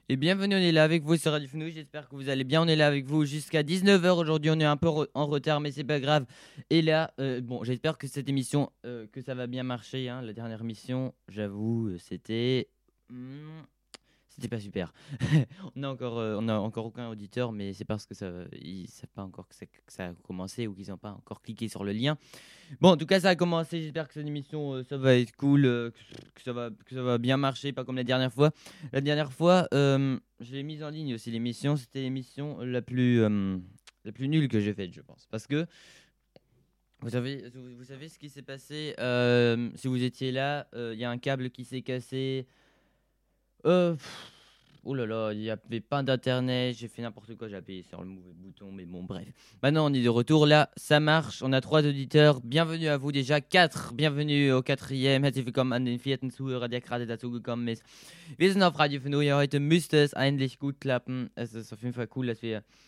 Et bienvenue, on est là avec vous sur Radio Fenouil, j'espère que vous allez bien, on est là avec vous jusqu'à 19h aujourd'hui, on est un peu en retard mais c'est pas grave. Et là, bon, j'espère que cette émission, que ça va bien marcher, hein. La dernière émission, j'avoue, c'était pas super. On a encore aucun auditeur, mais c'est parce que ils savent pas encore que ça a commencé ou qu'ils n'ont pas encore cliqué sur le lien. Bon, en tout cas, ça a commencé. J'espère que cette émission, ça va être cool, que ça va bien marcher, pas comme la dernière fois. La dernière fois, je l'ai mise en ligne aussi l'émission. C'était l'émission la plus nulle que j'ai faite, je pense, parce que vous savez ce qui s'est passé. Si vous étiez là, il y a un câble qui s'est cassé. Euh, Oh là là, il n'y avait pas d'internet, j'ai fait n'importe quoi, j'ai appuyé sur le mauvais bouton, mais bon, bref. Maintenant, on est de retour, là, ça marche, on a 3 auditeurs, bienvenue à vous déjà, 4, bienvenue au 4e, herzlich willkommen an den 4. Zuhörer, der gerade dazugekommen ist. Wir sind auf Radio Fenouil, heute müsste es eigentlich gut klappen, es ist auf jeden Fall cool, dass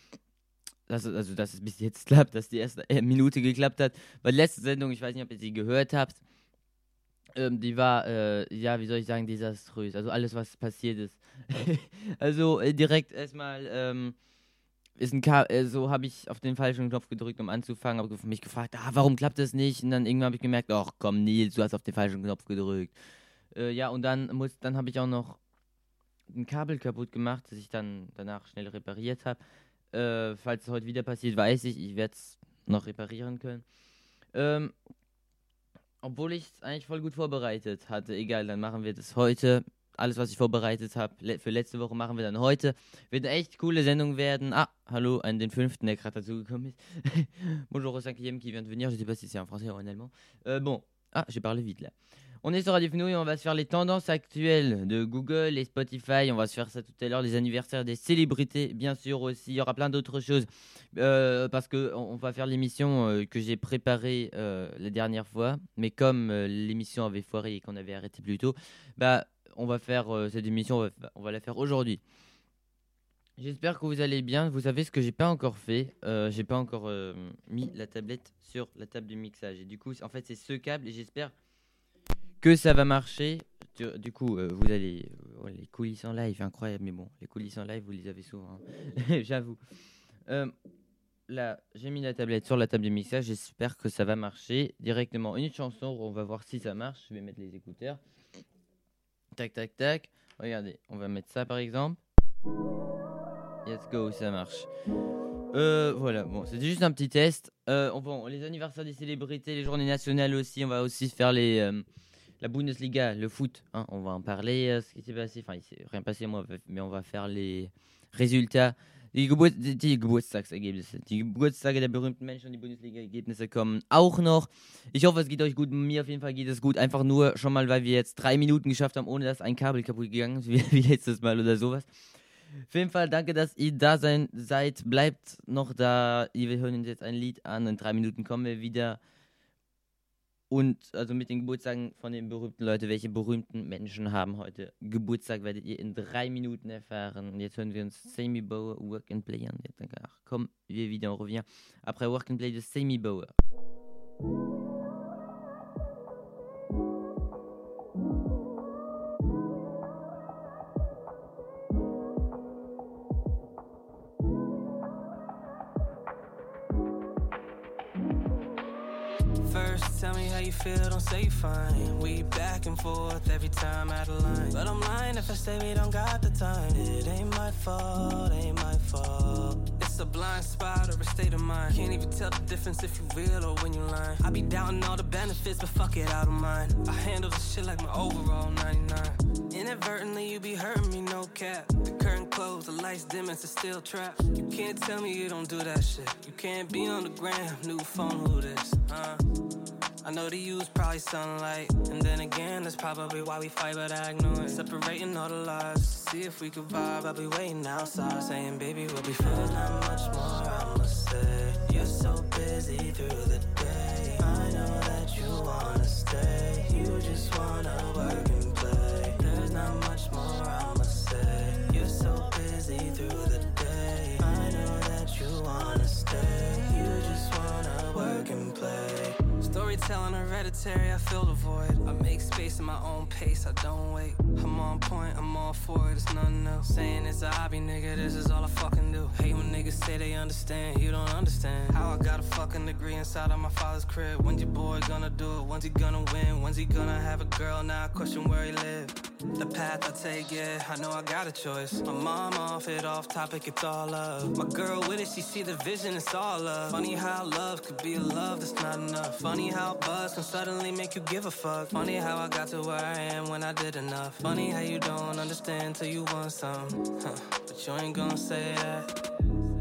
es bis jetzt klappt, dass die erste Minute geklappt hat, weil letzte Sendung, ich weiß nicht, ob ihr sie gehört habt, die war, ja, wie soll ich sagen, desaströs. Also alles, was passiert ist. Also direkt erstmal so habe ich auf den falschen Knopf gedrückt, um anzufangen. Habe mich gefragt, warum klappt das nicht? Und dann irgendwann habe ich gemerkt, ach komm Nils, du hast auf den falschen Knopf gedrückt. Ja, und dann habe ich auch noch ein Kabel kaputt gemacht, das ich dann danach schnell repariert habe. Falls es heute wieder passiert, weiß ich werde es noch reparieren können. Obwohl ich es eigentlich voll gut vorbereitet hatte. Egal, dann machen wir das heute. Alles, was ich vorbereitet habe, für letzte Woche machen wir dann heute. Wird eine echt coole Sendung werden. Hallo an den 5., der gerade dazugekommen ist. Bonjour au 5e qui vient de venir. Je sais pas si c'est en français ou en allemand. Bon, j'ai parlé vite là. On est sur Radio Fenouil et on va se faire les tendances actuelles de Google et Spotify. On va se faire ça tout à l'heure, les anniversaires des célébrités, bien sûr aussi. Il y aura plein d'autres choses parce qu'on va faire l'émission que j'ai préparée la dernière fois. Mais comme l'émission avait foiré et qu'on avait arrêté plus tôt, on va faire cette émission, on va la faire aujourd'hui. J'espère que vous allez bien. Vous savez ce que j'ai pas encore fait. J'ai pas encore mis la tablette sur la table de mixage. Et du coup, en fait, c'est ce câble et j'espère que ça va marcher. Du coup, vous allez... les coulisses en live, incroyable. Mais bon, les coulisses en live, vous les avez souvent. Hein. J'avoue. Là, j'ai mis la tablette sur la table de mixage. J'espère que ça va marcher. Directement une chanson. On va voir si ça marche. Je vais mettre les écouteurs. Tac, tac, tac. Regardez, on va mettre ça par exemple. Let's go, ça marche. Voilà, bon, c'était juste un petit test. Les anniversaires des célébrités, les journées nationales aussi. On va aussi faire la Bundesliga, le foot. Hein, on va en parler, ce qui s'est passé. Enfin, il s'est rien passé, mais on va faire les résultats. Die Geburtstagsergebnisse. Die Geburtstage der berühmten Menschen und die Bundesliga-Ergebnisse kommen auch noch. Ich hoffe, es geht euch gut. Mir auf jeden Fall geht es gut. Einfach nur schon mal, weil wir jetzt 3 Minuten geschafft haben, ohne dass ein Kabel kaputt gegangen ist, wie letztes Mal oder sowas. Auf jeden Fall danke, dass ihr da seid. Bleibt noch da. Wir hören uns jetzt ein Lied an. In 3 Minuten kommen wir wieder. Und also mit den Geburtstagen von den berühmten Leuten, welche berühmten Menschen haben heute Geburtstag, werdet ihr in 3 Minuten erfahren. Und jetzt hören wir uns Sammy Bauer, Work and Play an. Komm, wir wieder, on revient. Après Work and Play de Sammy Bauer. First, tell me how you feel, don't say you fine. We back and forth every time out of line. But I'm lying if I say we don't got the time. It ain't my fault, ain't my fault. It's a blind spot or a state of mind. Can't even tell the difference if you real or when you lying. I be doubting all the benefits, but fuck it, I don't mind. I handle this shit like my overall 99. Inadvertently, you be hurting me, no cap. The curtain closed, the lights dim, it's a steel trap. You can't tell me you don't do that shit. You can't be on the gram, new phone, who this, I know the use probably sunlight. And then again, that's probably why we fight, but I ignore it. Separating all the lies, see if we could vibe. I'll be waiting outside, saying, baby, we'll be fine. There's not much more I must say. You're so busy through the day. I know that you wanna stay. You just wanna work and play. There's not much more I must say. You're so busy through the day. I know that you wanna stay. You just wanna work and play. Storytelling hereditary, I fill the void. I make space in my own pace, I don't wait. I'm on point, I'm on all for it, it's nothing else. Saying it's a hobby, nigga, this is all I fucking do. Hate when niggas say they understand, you don't understand. How I got a fucking degree inside of my father's crib. When's your boy gonna do it? When's he gonna win? When's he gonna have a girl? Now I question where he live. The path I take, yeah, I know I got a choice. My mom off it, off topic, it's all love. My girl with it, she see the vision, it's all love. Funny how love could be a love that's not enough. Funny how buzz can suddenly make you give a fuck. Funny how I got to where I am when I did enough. Funny how you don't understand till you want some, but you ain't gonna say that.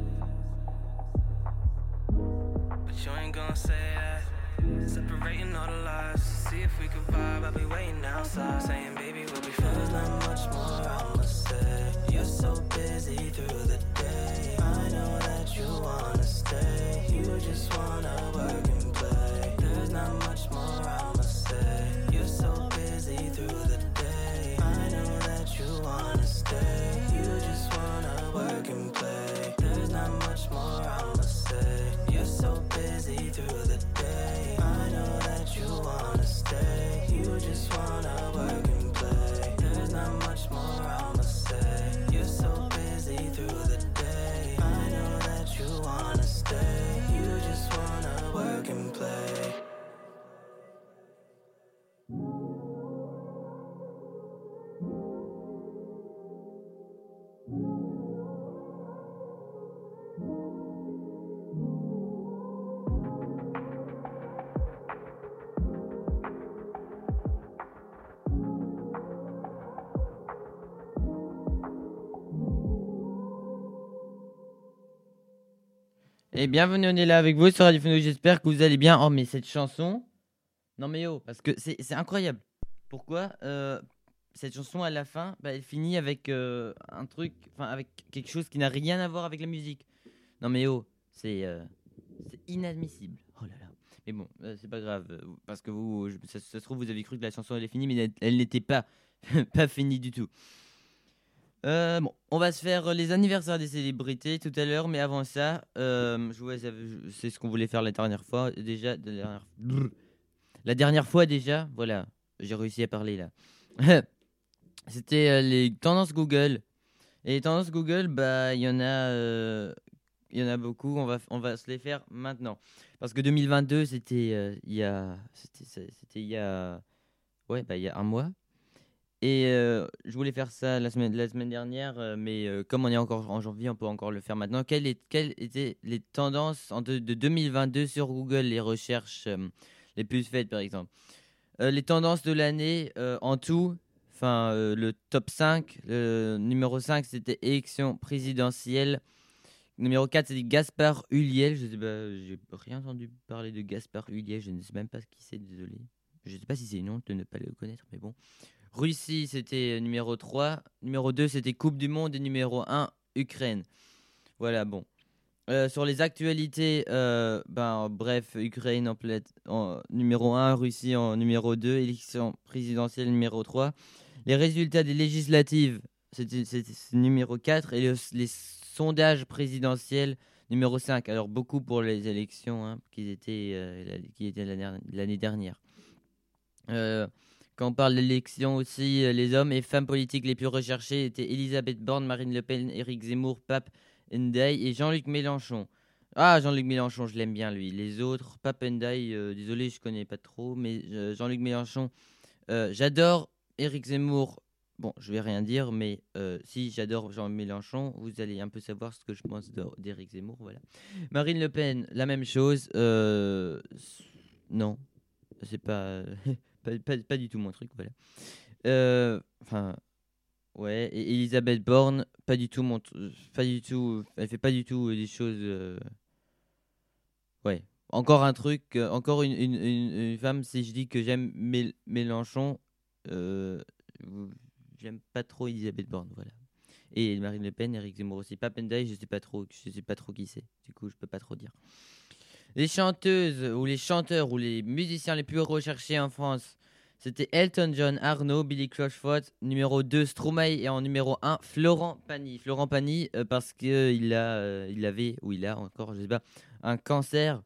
But you ain't gonna say that. Separating all the lies, see if we could vibe. I'll be waiting outside, saying baby we'll be fine. There's not much more I'ma say. You're so busy through the day. I know that you wanna stay. You just wanna work and play. There's not much more I'ma say. You're so busy through the day. I know that you wanna stay. You just wanna work and play. There's not much more I'ma say. You're so busy through the day. I know that you wanna stay. You just wanna work and play. There's not much more I'ma say. You're so busy through the day. I know that you wanna stay. You just wanna work and play. Et bienvenue, on est là avec vous sur Radio Fenouil, j'espère que vous allez bien. Oh mais cette chanson, non mais oh, parce que c'est incroyable. Pourquoi cette chanson à la fin, elle finit avec un truc, enfin avec quelque chose qui n'a rien à voir avec la musique. Non mais oh, c'est inadmissible. Oh là là. Mais bon, c'est pas grave, parce que vous, ça se trouve vous avez cru que la chanson elle est finie, mais elle n'était pas pas finie du tout. Bon, on va se faire les anniversaires des célébrités tout à l'heure, mais avant ça, c'est ce qu'on voulait faire la dernière fois. Déjà, la dernière fois déjà, voilà, j'ai réussi à parler là. C'était les tendances Google. Et les tendances Google, il y en a beaucoup. On va se les faire maintenant, parce que 2022, c'était il y a un mois. Et je voulais faire ça la semaine dernière, mais comme on est encore en janvier, on peut encore le faire maintenant. Quelles étaient les tendances de 2022 sur Google, les recherches les plus faites par exemple? Les tendances de l'année en tout, le top 5, numéro 5 c'était élection présidentielle. Numéro 4 c'était Gaspard Ulliel. Je sais pas, j'ai rien entendu parler de Gaspard Ulliel, je ne sais même pas qui c'est, désolé. Je ne sais pas si c'est une honte de ne pas le connaître, mais bon. Russie, c'était numéro 3. Numéro 2, c'était Coupe du Monde. Et numéro 1, Ukraine. Voilà, bon. Sur les actualités, bref, Ukraine en numéro 1, Russie en numéro 2, élection présidentielle numéro 3. Les résultats des législatives, c'était numéro 4. Et les sondages présidentiels, numéro 5. Alors, beaucoup pour les élections qui étaient l'année dernière. Quand on parle d'élections aussi, les hommes et femmes politiques les plus recherchés étaient Elisabeth Borne, Marine Le Pen, Éric Zemmour, Pape Ndiaye et Jean-Luc Mélenchon. Ah, Jean-Luc Mélenchon, je l'aime bien lui. Les autres, Pape Ndiaye, désolé, je connais pas trop, mais Jean-Luc Mélenchon, j'adore Éric Zemmour. Bon, je vais rien dire, mais si j'adore Jean Mélenchon, vous allez un peu savoir ce que je pense d'Éric Zemmour, voilà. Marine Le Pen, la même chose. Non, c'est pas... Pas du tout mon truc, voilà. Ouais, et Elisabeth Borne, pas du tout, elle fait pas du tout des choses. Ouais, encore un truc, encore une femme. Si je dis que j'aime Mélenchon, j'aime pas trop Elisabeth Borne, voilà. Et Marine Le Pen, Éric Zemmour aussi. Pape Ndiaye, je sais pas trop qui c'est. Du coup, je peux pas trop dire. Les chanteuses ou les chanteurs ou les musiciens les plus recherchés en France, c'était Elton John, Arnaud, Billy Crushford, numéro 2 Stromae et en numéro 1 Florent Pagny. Florent Pagny parce qu'il avait, ou il a encore, je sais pas, un cancer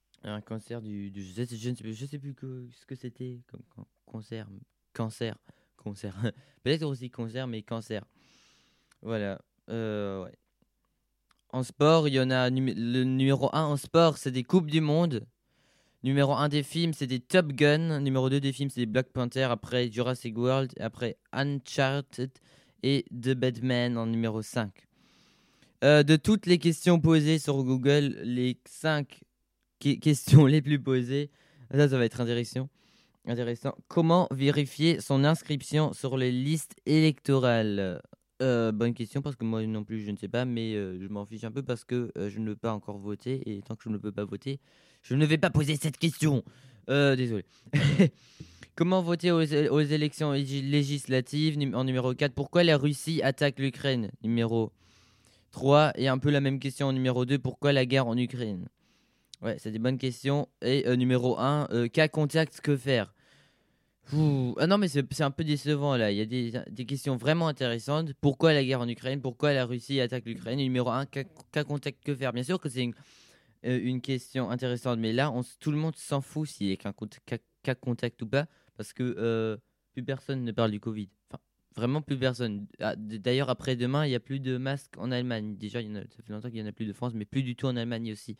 je sais plus ce que c'était comme cancer, concert. Peut-être aussi concert, mais cancer. Voilà. Ouais. En sport, il y en a le numéro 1 en sport, c'est des Coupes du Monde. Numéro 1 des films, c'est des Top Gun. Numéro 2 des films, c'est des Black Panther. Après Jurassic World. Après Uncharted. Et The Batman en numéro 5. De toutes les questions posées sur Google, les 5 questions les plus posées. Ça va être intéressant. Comment vérifier son inscription sur les listes électorales? Bonne question parce que moi non plus je ne sais pas, mais je m'en fiche un peu parce que je ne peux pas encore voter et tant que je ne peux pas voter, je ne vais pas poser cette question. Désolé. Comment voter aux élections législatives en numéro 4? Pourquoi la Russie attaque l'Ukraine? Numéro 3. Et un peu la même question en numéro 2. Pourquoi la guerre en Ukraine? Ouais, c'est des bonnes questions. Et numéro 1, cas contact, que faire? Ah non, mais c'est un peu décevant là. Il y a des questions vraiment intéressantes. Pourquoi la guerre en Ukraine? Pourquoi la Russie attaque l'Ukraine? Et numéro 1, cas contact, que faire? Bien sûr que c'est une question intéressante, mais là, tout le monde s'en fout s'il y a cas contact ou pas, parce que plus personne ne parle du Covid. Enfin, vraiment plus personne. D'ailleurs, après-demain, il n'y a plus de masques en Allemagne. Déjà, ça fait longtemps qu'il n'y en a plus de France, mais plus du tout en Allemagne aussi.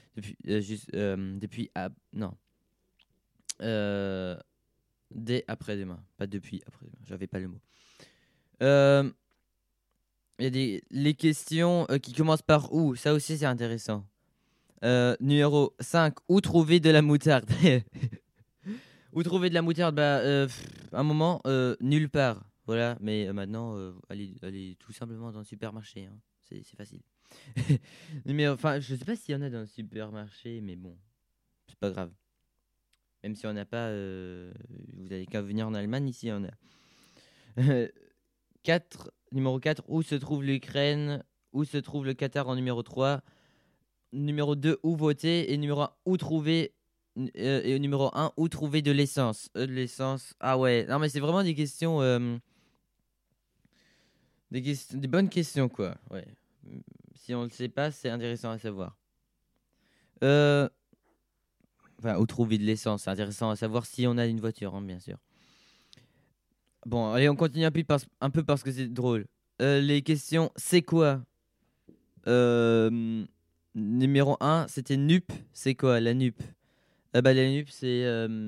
Non. Dès après-demain. Pas depuis après-demain. J'avais pas le mot. Il y a les questions qui commencent par où. Ça aussi, c'est intéressant. Numéro 5. Où trouver de la moutarde? Où trouver de la moutarde? Bah, un moment, nulle part. Voilà, mais maintenant, allez tout simplement dans le supermarché. Hein. C'est facile. Enfin, je sais pas s'il y en a dans le supermarché, mais bon, c'est pas grave. Même si on n'a pas, vous avez qu'à venir en Allemagne, ici on a. 4, numéro 4, où se trouve l'Ukraine? Où se trouve le Qatar en numéro 3? Numéro 2, où voter? Et numéro 1, où trouver? Et numéro 1, où trouver de l'essence? De l'essence, ah ouais, non mais c'est vraiment des questions, des bonnes questions quoi, ouais. Si on le sait pas, c'est intéressant à savoir. Enfin, où trouver de l'essence, c'est intéressant à savoir si on a une voiture, hein, bien sûr. Bon, allez, on continue un peu parce que c'est drôle. Les questions, c'est quoi? Numéro 1, c'était NUP. C'est quoi la NUP? La NUP, c'est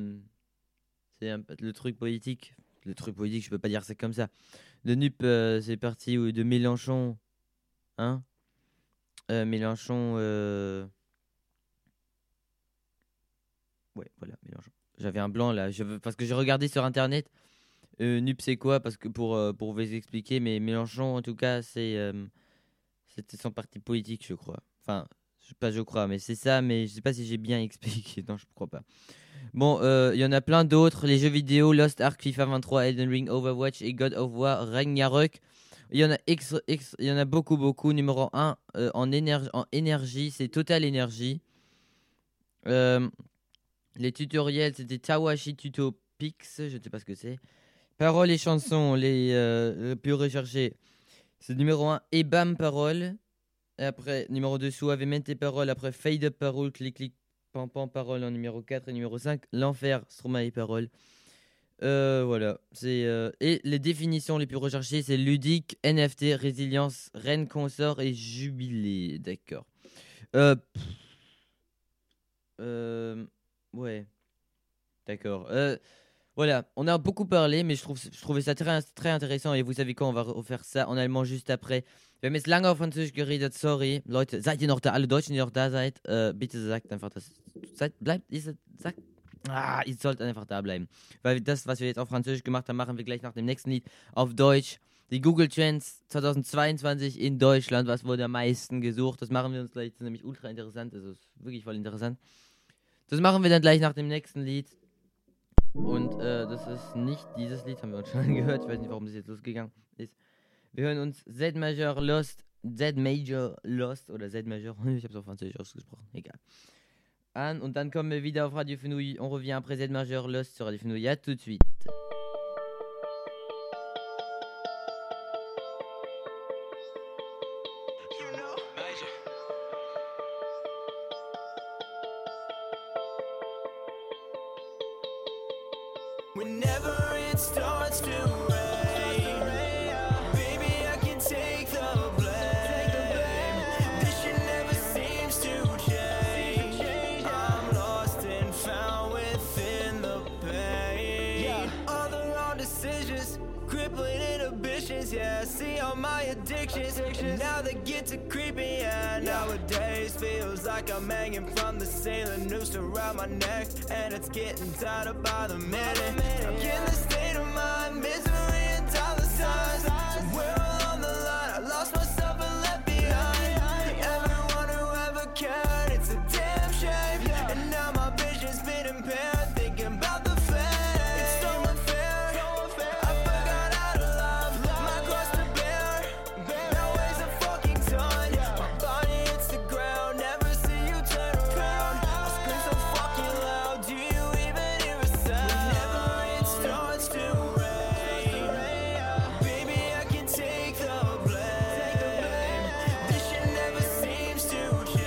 le truc politique. Le truc politique, je peux pas dire ça comme ça. Le NUP, c'est parti de Mélenchon. Hein? Mélenchon. Ouais, voilà, Mélenchon. J'avais un blanc là. Parce que j'ai regardé sur internet. NUP, c'est quoi? Parce que pour vous expliquer, mais Mélenchon, en tout cas, c'était son parti politique, je crois. Enfin, je crois, mais c'est ça, mais je sais pas si j'ai bien expliqué. Non, je ne crois pas. Bon, il y en a plein d'autres. Les jeux vidéo, Lost Ark, FIFA 23, Elden Ring, Overwatch et God of War, Ragnarok. Il y en a il y en a beaucoup. Numéro 1, en énergie, c'est Total Energy. Les tutoriels, c'était Tawashi Tuto Pix, je ne sais pas ce que c'est. Paroles et chansons, les plus recherchés. C'est numéro 1, Ebam Parole. Et après, numéro 2, Suavemente Parole. Après, Fade Up Parole, Clic Clic Pam Pam Parole en numéro 4. Et numéro 5, L'Enfer, Stromae Parole. Voilà. Et les définitions les plus recherchées, c'est ludique, NFT, résilience, reine consort et jubilé. D'accord. Ouais. D'accord. Voilà, on a beaucoup parlé, mais je trouvais ça très, très intéressant. Et vous savez quoi, on va refaire ça en allemand juste après. Wir haben jetzt lange auf Französisch geredet, sorry. Leute, seid ihr noch da? Alle Deutschen, die noch da seid, bitte sagt einfach, dass ihr sollt einfach da bleiben. Weil das, was wir jetzt auf Französisch gemacht haben, machen wir gleich nach dem nächsten Lied auf Deutsch. Die Google Trends 2022 in Deutschland, was wurde am meisten gesucht? Das machen wir uns gleich, das ist nämlich ultra interessant, das ist wirklich voll interessant. Das machen wir dann gleich nach dem nächsten Lied. Und das ist nicht dieses Lied, haben wir uns schon gehört. Ich weiß nicht, warum das jetzt losgegangen ist. Wir hören uns Z Major Lost oder Z Major, ich habe es auf Französisch ausgesprochen, egal. An und dann kommen wir wieder auf Radio Fenouille. On revient après Z Major Lost sur Radio Fenouille. À tout de suite. Whenever it's it starts to rain, baby, I can take the blame. This shit never seems to change. I'm lost and found within the pain. All the wrong decisions, crippling inhibitions, yeah. I see all my addictions, and now they get to creeping, yeah. Nowadays feels like I'm hanging from the ceiling, noose around my neck, and it's getting tighter by the minute. I'm in the state of mind, misery and dollar signs. Somewhere along the line, I lost myself and left behind everyone who ever cared. It's a damn shame, and now my vision's been impaired, thinking about the fame. It's so unfair, I forgot how to love, my cross to bear. Now weighs a fucking ton, my body hits the ground, never see you turn around. I scream so fucking loud, do you even hear a sound? Whenever it starts to rain, baby, I can take the blame. This shit never seems to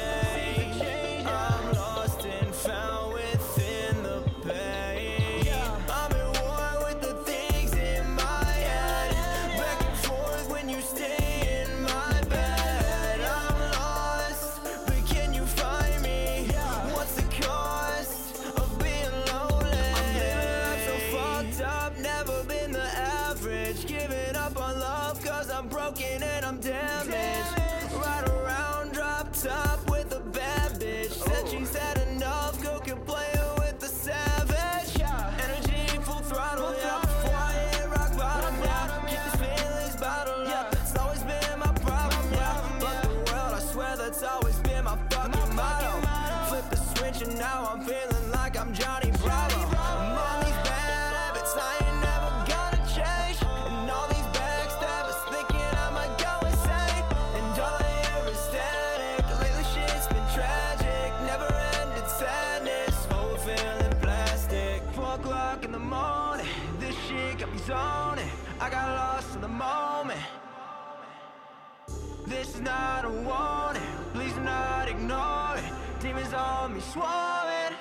change. I'm lost and found within the pain. I'm at war with the things in my head, back and forth when you stay in my bed. I'm lost, but can you find me? What's the cost of being lonely? I'm living life so fucked up, never been the average. Giving up on love cause I'm broken and I'm damaged. Ride around drop top with a bad bitch, said she's had enough, go can play her with the savage. Energy full throttle, yeah. Before I hit rock bottom, yeah. Keep these feelings bottled up, it's always been my problem, yeah. But the world, I swear that's always been my fucking motto. Flip the switch and now I'm feeling like I'm Johnny Bravo. I'm on these bad habits, I ain't never gonna change. And all these backstabbers thinking I might go insane. And all I hear is static, lately shit's been tragic. Never ended sadness, whole feeling plastic. 4 o'clock in the morning, this shit got me zoning. I got lost in the moment. This is not a warning, please do not ignore it. Demons on me swarming.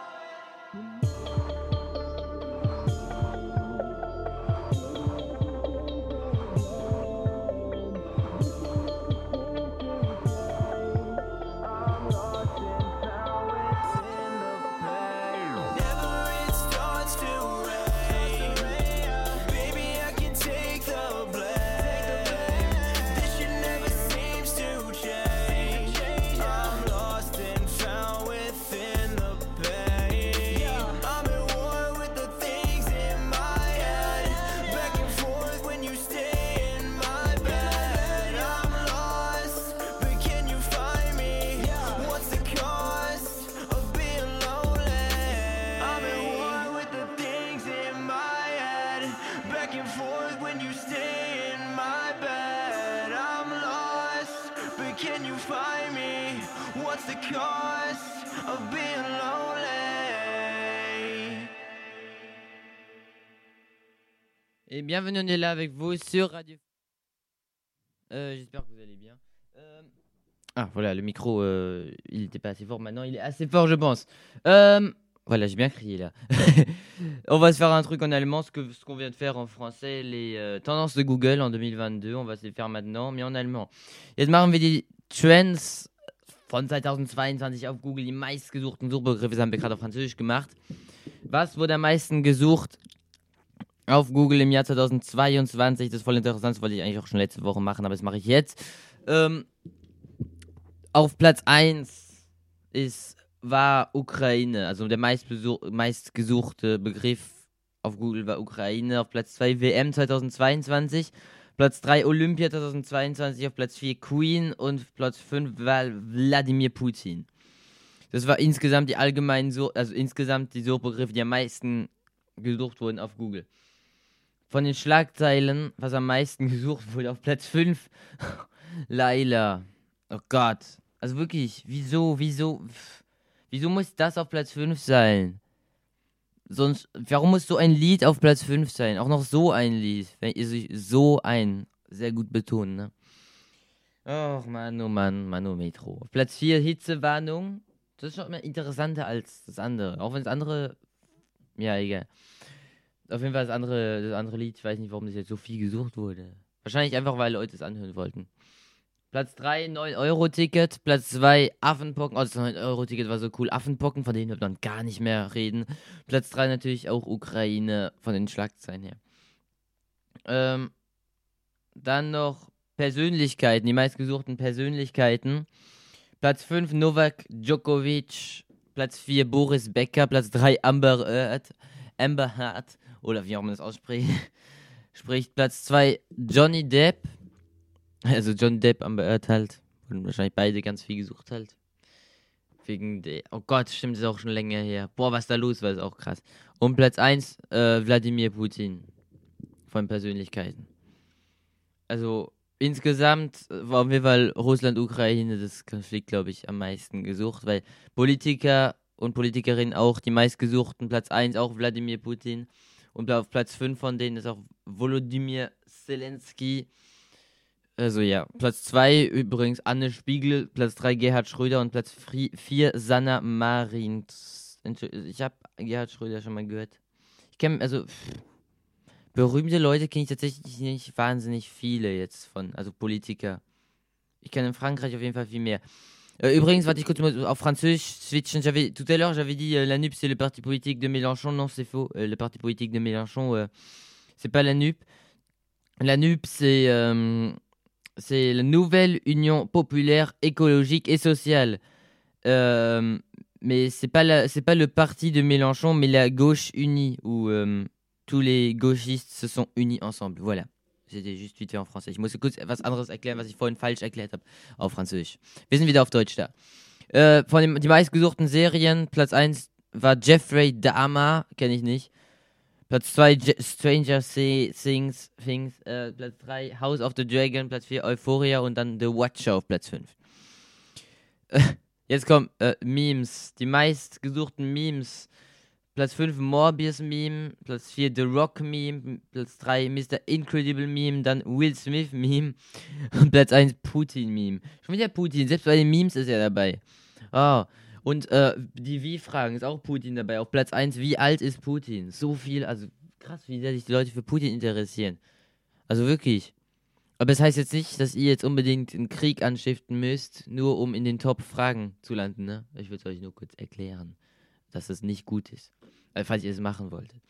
Whenever it starts to rain, baby, I can take the blame. This shit never seems to change. I'm lost and found within the pain. I'm at war with the things in my head, back and forth when you stay in my bed. I'm lost, but can you find me? What's the cost of being lonely? I'm at war with the things in my head, back and forth when you stay in my bed. I'm lost, but can you find me? What's the cost of being lonely? Et bienvenue, on est là avec vous sur Radio. J'espère que vous allez bien. Ah voilà, le micro, il n'était pas assez fort. Maintenant, il est assez fort, je pense. Voilà, j'ai bien crié là. On va se faire un truc en allemand, ce qu'on vient de faire en français, les tendances de Google en 2022. On va se les faire maintenant, mais en allemand. Jetzt machen wir die Trends von 2022 auf Google. Die meistgesuchten Suchbegriffe, das haben wir gerade auf Französisch gemacht. Was wurde am meisten gesucht auf Google im Jahr 2022? Das ist voll interessant, das wollte ich eigentlich auch schon letzte Woche machen, aber das mache ich jetzt. Auf Platz 1 war Ukraine, also der meistgesuchte Begriff auf Google war Ukraine. Auf Platz 2 WM 2022, Platz 3 Olympia 2022, auf Platz 4 Queen und Platz 5 war Wladimir Putin. Das war insgesamt insgesamt die Suchbegriffe, die am meisten gesucht wurden auf Google. Von den Schlagzeilen, was am meisten gesucht wurde, auf Platz 5, Laila. Oh Gott. Also wirklich, wieso muss das auf Platz 5 sein? Sonst, warum muss so ein Lied auf Platz 5 sein? Auch noch so ein Lied. Wenn ihr sich so ein, sehr gut betonen, ne? Och, Mann, oh Metro. Auf Platz 4, Hitzewarnung. Das ist schon immer interessanter als das andere. Auch wenn das andere, ja, egal. Auf jeden Fall das andere Lied, ich weiß nicht, warum das jetzt so viel gesucht wurde. Wahrscheinlich einfach, weil Leute es anhören wollten. Platz 3, 9-Euro-Ticket. Platz 2, Affenpocken. Oh, das 9-Euro-Ticket war so cool. Affenpocken, von denen hört man gar nicht mehr reden. Platz 3 natürlich auch Ukraine, von den Schlagzeilen her. Dann noch Persönlichkeiten, die meistgesuchten Persönlichkeiten. Platz 5, Novak Djokovic. Platz 4, Boris Becker. Platz 3, Amber Heard. Oder wie auch man das ausspricht. Platz 2, Johnny Depp. Also Johnny Depp, Amber Heard halt. Und wahrscheinlich beide ganz viel gesucht halt. Wegen der. Oh Gott, stimmt, ist auch schon länger her. Boah, was da los war, ist auch krass. Und Platz 1, Wladimir Putin. Von Persönlichkeiten. Also insgesamt war auf jeden Fall Russland-Ukraine das Konflikt, glaube ich, am meisten gesucht, weil Politiker und Politikerinnen auch die meistgesuchten. Platz 1 auch Wladimir Putin. Und auf Platz 5 von denen ist auch Volodymyr Zelensky. Also ja, Platz 2 übrigens Anne Spiegel, Platz 3 Gerhard Schröder und Platz 4 Sanna Marin. Ich habe Gerhard Schröder schon mal gehört. Ich kenne, also berühmte Leute kenne ich tatsächlich nicht wahnsinnig viele jetzt von, also Politiker. Ich kenne in Frankreich auf jeden Fall viel mehr. Übrigens, warte, ich kurz mal auf Französisch switchen. Tout à l'heure, j'avais dit la NUP, c'est le parti politique de Mélenchon. Non, c'est faux. Le parti politique de Mélenchon, c'est pas la NUP. La NUP, c'est la Nouvelle Union Populaire Écologique et Sociale. Mais c'est pas le parti de Mélenchon, mais la gauche unie, où tous les gauchistes se sont unis ensemble. Voilà. C'était juste vite fait en Français. Ich musste kurz etwas anderes erklären, was ich vorhin falsch erklärt habe auf Französisch. Wir sind wieder auf Deutsch da. Die meistgesuchten Serien, Platz 1 war Jeffrey Dahmer, kenne ich nicht. Platz 2 Stranger Things, Platz 3 House of the Dragon, Platz 4 Euphoria und dann The Watcher auf Platz 5. Jetzt kommen Memes, die meistgesuchten Memes. Platz 5 Morbius Meme, Platz 4 The Rock Meme, Platz 3 Mr. Incredible Meme, dann Will Smith Meme und Platz 1 Putin Meme. Schon wieder Putin, selbst bei den Memes ist er dabei. Oh, und die Wie-Fragen ist auch Putin dabei. Auf Platz 1, wie alt ist Putin? So viel, also krass, wie sehr sich die Leute für Putin interessieren. Also wirklich. Aber es heißt jetzt nicht, dass ihr jetzt unbedingt einen Krieg anstiften müsst, nur um in den Top-Fragen zu landen, ne? Ich würde es euch nur kurz erklären, dass es nicht gut ist. Falls ihr es machen wolltet.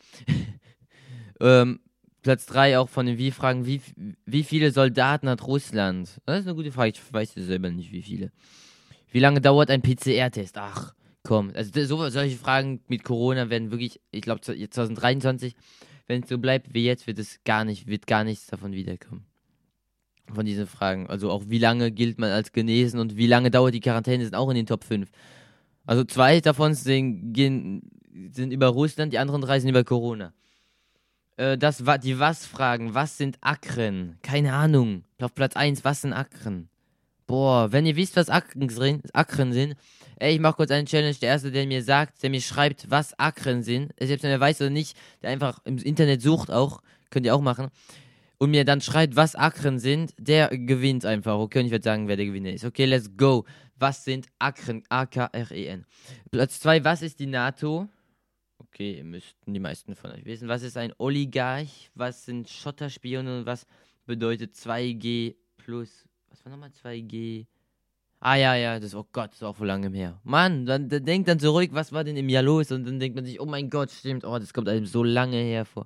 Platz 3 auch von den Wie-Fragen. Wie viele Soldaten hat Russland? Das ist eine gute Frage. Ich weiß selber nicht, wie viele. Wie lange dauert ein PCR-Test? Ach, komm. Also solche Fragen mit Corona werden wirklich, ich glaube 2023, wenn es so bleibt wie jetzt, wird gar nichts davon wiederkommen. Von diesen Fragen. Also auch wie lange gilt man als genesen und wie lange dauert die Quarantäne, sind auch in den Top 5. Also 2 davon sind über Russland, die anderen 3 sind über Corona. Die Was-Fragen. Was sind Akren? Keine Ahnung. Auf Platz 1, was sind Akren? Boah, wenn ihr wisst, was Akren sind, ich mach kurz eine Challenge. Der Erste, der mir schreibt, was Akren sind, selbst wenn er weiß oder nicht, der einfach im Internet sucht auch, könnt ihr auch machen, und mir dann schreibt, was Akren sind, der gewinnt einfach. Okay, und ich werde sagen, wer der Gewinner ist. Okay, let's go. Was sind Akren? A-K-R-E-N. Platz 2, was ist die NATO? Okay, müssten die meisten von euch wissen. Was ist ein Oligarch? Was sind Schotterspione und was bedeutet 2G plus? Was war nochmal 2G? Ah ja, das ist auch vor langem her. Mann, dann denkt dann zurück, was war denn im Jahr los? Und dann denkt man sich, oh mein Gott, stimmt, das kommt einem so lange her vor.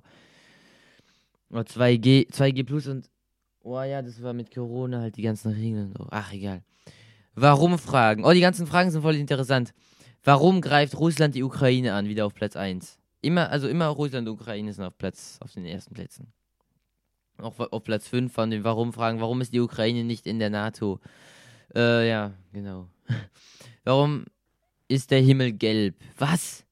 2G plus und, das war mit Corona halt die ganzen Regeln. Ach, egal. Warum Fragen? Die ganzen Fragen sind voll interessant. Warum greift Russland die Ukraine an? Wieder auf Platz 1. Immer Russland und Ukraine sind auf den ersten Plätzen. Auch auf Platz 5 von den Warum-Fragen. Warum ist die Ukraine nicht in der NATO? Ja, genau. Warum ist der Himmel gelb? Was?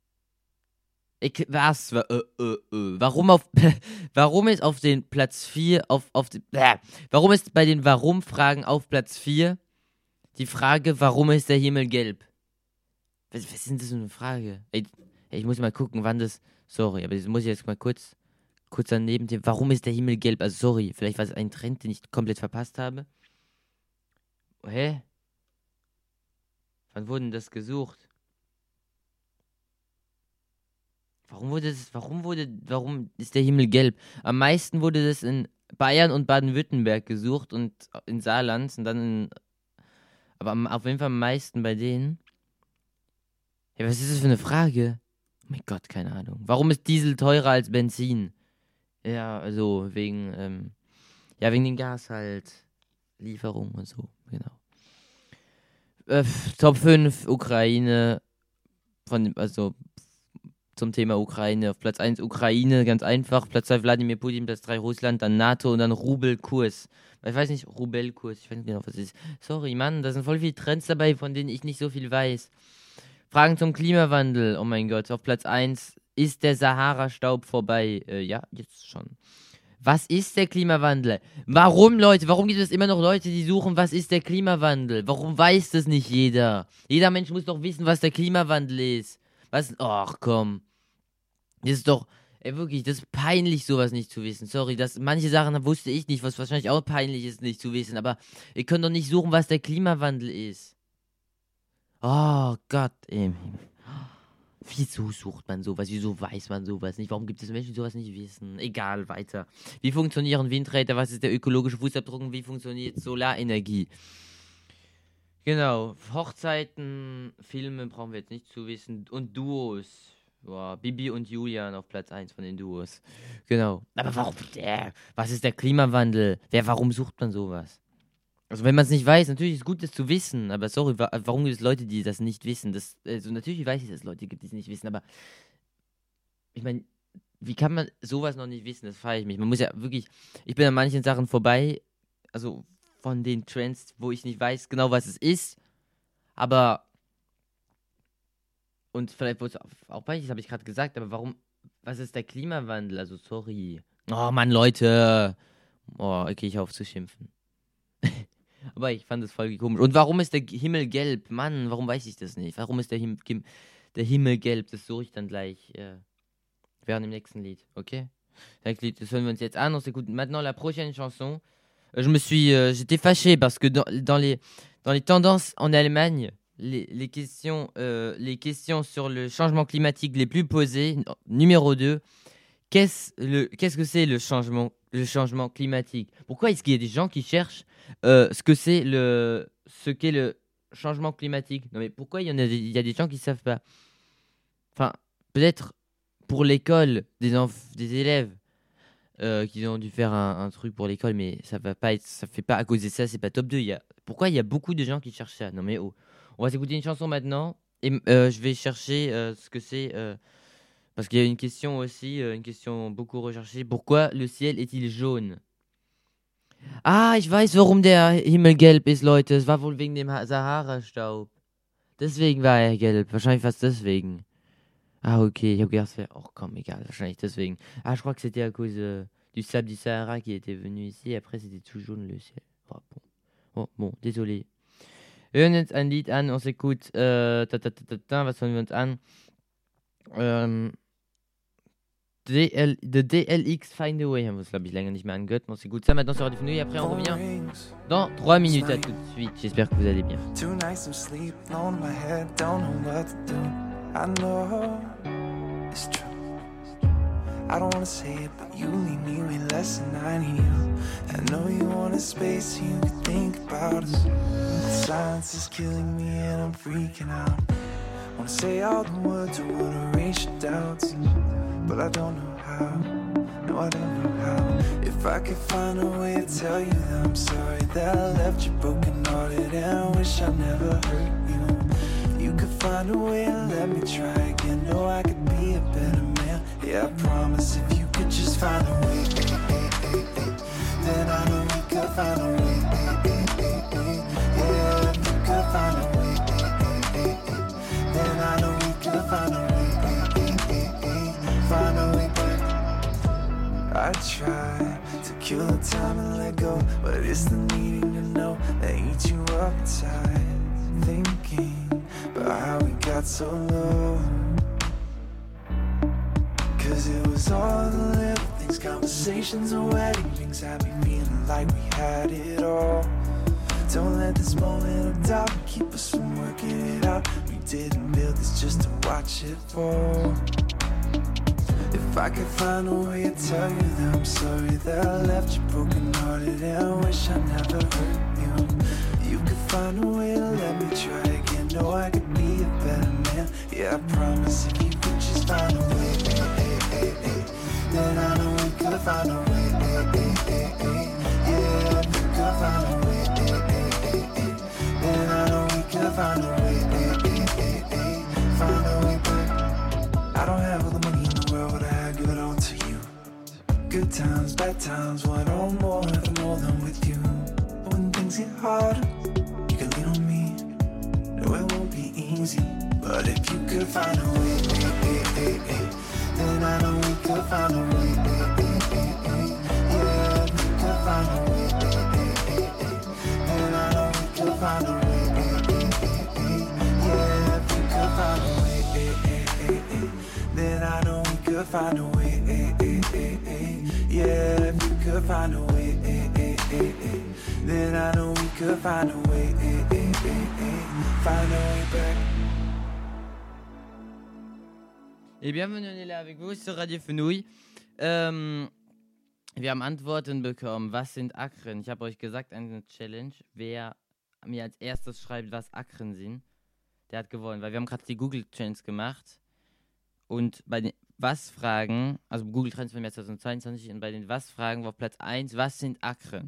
Warum ist auf den Platz 4 warum ist bei den Warum-Fragen auf Platz 4 die Frage, warum ist der Himmel gelb? Was ist denn das für eine Frage? Ich muss mal gucken, wann das. Sorry, aber das muss ich jetzt mal kurz daneben. Warum ist der Himmel gelb? Also, sorry, vielleicht war es ein Trend, den ich komplett verpasst habe. Hä? Wann wurde denn das gesucht? Warum ist der Himmel gelb? Am meisten wurde das in Bayern und Baden-Württemberg gesucht und in Saarland und dann aber auf jeden Fall am meisten bei denen. Ja, was ist das für eine Frage? Oh mein Gott, keine Ahnung. Warum ist Diesel teurer als Benzin? Ja, also wegen den Gas halt. Lieferung und so, genau. Top 5 Ukraine, zum Thema Ukraine. Auf Platz 1 Ukraine, ganz einfach. Platz 2 Wladimir Putin, Platz 3 Russland, dann NATO und dann Rubelkurs. Ich weiß nicht, Rubelkurs, ich weiß nicht genau, was das ist. Sorry, Mann, da sind voll viele Trends dabei, von denen ich nicht so viel weiß. Fragen zum Klimawandel, oh mein Gott. Auf Platz 1, ist der Sahara-Staub vorbei? Ja, jetzt schon. Was ist der Klimawandel? Warum gibt es immer noch Leute, die suchen, was ist der Klimawandel? Warum weiß das nicht jeder? Jeder Mensch muss doch wissen, was der Klimawandel ist. Ach komm. Das ist doch, wirklich, das ist peinlich, sowas nicht zu wissen. Sorry, manche Sachen wusste ich nicht, was wahrscheinlich auch peinlich ist, nicht zu wissen. Aber ihr könnt doch nicht suchen, was der Klimawandel ist. Oh Gott, wieso sucht man sowas? Wieso weiß man sowas nicht? Warum gibt es Menschen, die sowas nicht wissen? Egal, weiter. Wie funktionieren Windräder? Was ist der ökologische Fußabdruck? Und wie funktioniert Solarenergie? Genau. Hochzeiten, Filme brauchen wir jetzt nicht zu wissen. Und Duos. Boah, Bibi und Julian auf Platz 1 von den Duos. Genau. Aber warum? Was ist der Klimawandel? Warum sucht man sowas? Also wenn man es nicht weiß, natürlich ist es gut, das zu wissen, aber sorry, warum gibt es Leute, die das nicht wissen? Natürlich weiß ich, dass es Leute gibt, die es nicht wissen, aber ich meine, wie kann man sowas noch nicht wissen? Das frage ich mich. Man muss ja wirklich, ich bin an manchen Sachen vorbei, also von den Trends, wo ich nicht weiß genau, was es ist, aber und vielleicht wurde es auch peinlich, das habe ich gerade gesagt, aber was ist der Klimawandel? Also sorry. Oh Mann, Leute. Oh, okay, ich hoffe zu schimpfen. Aber ich fand das voll komisch. Und warum ist der Himmel gelb? Mann, warum weiß ich das nicht? Warum ist der Himmel gelb? Das suche ich dann gleich während dem nächsten Lied, ok? Das hören wir uns jetzt an. On s'écoute maintenant la prochaine chanson. J'étais fâché parce que dans les tendances en Allemagne, les questions sur le changement climatique les plus posées, numéro 2, qu'est-ce que c'est le changement climatique? Pourquoi est-ce qu'il y a des gens qui cherchent ce qu'est le changement climatique? Non mais pourquoi il y a des gens qui savent pas? Enfin, peut-être pour l'école des élèves qui ont dû faire un truc pour l'école, mais ça fait pas à cause de ça, c'est pas top 2. Pourquoi il y a beaucoup de gens qui cherchent ça? Non mais oh, on va s'écouter une chanson maintenant et je vais chercher ce que c'est. Parce qu'il y a une question aussi, une question beaucoup recherchée. Pourquoi le ciel est-il jaune? Ah, ich weiß, warum der Himmel gelb ist, Leute. Es war wohl wegen dem Sahara-Staub. Deswegen war er gelb. Wahrscheinlich fast deswegen. Ah, ok. Ich habe gedacht, es wäre... Oh, komm, egal. Wahrscheinlich deswegen. Ah, je crois que c'était à cause du sable du Sahara qui était venu ici. Et après, c'était tout jaune, le ciel. Oh, bon. Oh, bon, désolé. Wir hören jetzt ein Lied an. On s'écoute... was hören wir uns an? The DLX Find a Way, haben wir es glaube ich länger nicht mehr angehört. On s'écoute ça maintenant sur Radio Fenouille et après on revient dans 3 minutes. À tout de suite, j'espère que vous allez bien. I know it's true. I don't wanna say it, but you leave me way less than I need you. I know you want a space so you can think about us. The silence is killing me and I'm freaking out. Wanna say all the words, I wanna erase your doubts, but I don't know how. No, I don't know how. If I could find a way to tell you that I'm sorry that I left you broken hearted and I wish I never hurt you. You could find a way to let me try again. No, I could be a better man. Yeah, I promise if you could just find a way, then I know we could find a way. Yeah, if you could find a way, then I know we could find a way. Find a way back. I try to kill the time and let go, but it's the needing to know that eats you up tight. Thinking about how we got so low, 'cause it was all the little things, conversations and wedding rings had me feeling like we had it all. Don't let this moment of doubt keep us from working it out. We didn't build this just to watch it fall. If I could find a way to tell you that I'm sorry that I left you broken hearted, and I wish I never hurt you. You could find a way to let me try again. Know I could be a better man. Yeah, I promise if you could just find a way, then I know we could find a way, yeah, if you could find a way, then I know we could find a way, find a way back. I don't have all the money in the world, but I give it all to you. Good times, bad times, one or more, if more than with you. When things get harder, you can lean on me. No, it won't be easy, but if you could find a way, then I know we could find a way, yeah, if you could find a way, then I know we could find a way, yeah, if you could find a way, then I know we could find a way, yeah, if you could find a way, then I know we could find a way, find a way back. Et bienvenue, on est là avec vous sur Radio Fenouil. Wir haben Antworten bekommen. Was sind Akren? Ich habe euch gesagt, eine Challenge. Wer mir als erstes schreibt, was Akren sind, der hat gewonnen. Weil wir haben gerade die Google Trends gemacht. Und bei den Was-Fragen, also Google Trends von 2022, und bei den Was-Fragen war auf Platz 1, was sind Akren?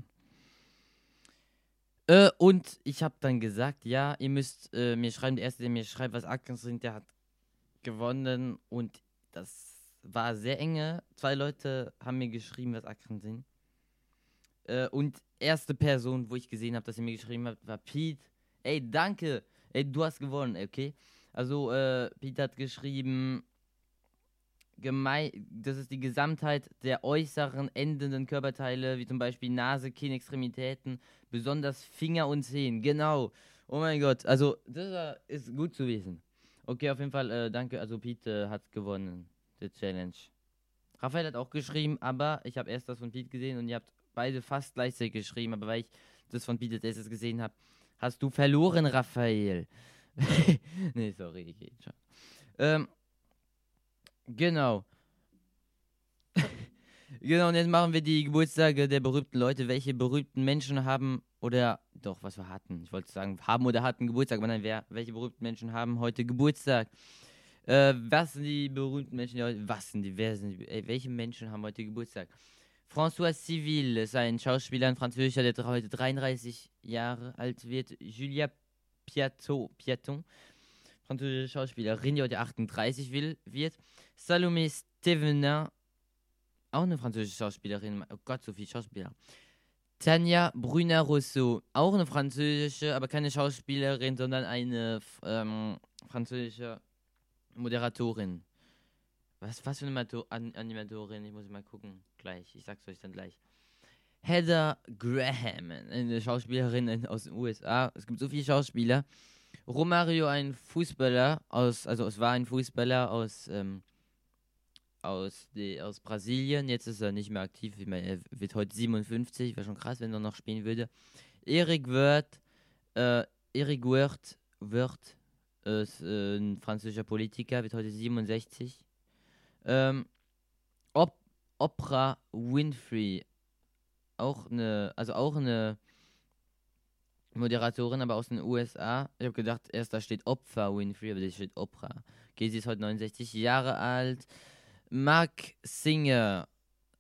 Und ich habe dann gesagt, ja, ihr müsst mir schreiben, der Erste, der mir schreibt, was Akren sind, der hat gewonnen, und das war sehr enge. 2 Leute haben mir geschrieben, was Akren sind. Und erste Person, wo ich gesehen habe, dass sie mir geschrieben hat, war Pete. Ey, danke. Ey, du hast gewonnen, okay? Also, Pete hat geschrieben, das ist die Gesamtheit der äußeren, endenden Körperteile, wie zum Beispiel Nase, Kinn, Extremitäten, besonders Finger und Zehen. Genau. Oh mein Gott. Also, das ist gut zu wissen. Okay, auf jeden Fall, danke. Also, Pete hat gewonnen, die Challenge. Raphael hat auch geschrieben, aber ich habe erst das von Pete gesehen und ihr habt beide fast gleichzeitig geschrieben, aber weil ich das von Pete als erstes gesehen habe, hast du verloren, Raphael. Nee, sorry, ich geht schon. Genau. Genau, und jetzt machen wir die Geburtstage der berühmten Leute. Welche berühmten Menschen haben oder doch, was wir hatten. Ich wollte sagen, haben oder hatten Geburtstag, aber nein, welche berühmten Menschen haben heute Geburtstag? Was sind die berühmten Menschen, welche Menschen haben heute Geburtstag? François Civil ist ein Schauspieler, ein Französischer, der heute 33 Jahre alt wird. Julia Piaton, französische Schauspielerin, die heute 38 wird. Salomé Stevenin, auch eine französische Schauspielerin. Oh Gott, so viele Schauspieler. Tanja Brunner-Rousseau, auch eine französische, aber keine Schauspielerin, sondern eine französische Moderatorin. Was für eine Animatorin? Ich muss mal gucken. Gleich. Ich sag's euch dann gleich. Heather Graham, eine Schauspielerin aus den USA. Es gibt so viele Schauspieler. Romario, ein Fußballer es war ein Fußballer aus Brasilien. Jetzt ist er nicht mehr aktiv. Ich meine, er wird heute 57. Wäre schon krass, wenn er noch spielen würde. Eric Wirth ist ein französischer Politiker, wird heute 67. Oprah Winfrey, auch eine Moderatorin, aber aus den USA. Ich habe gedacht, erst da steht Oprah Winfrey, aber da steht Oprah. Okay, sie ist heute 69 Jahre alt. Mark Singer,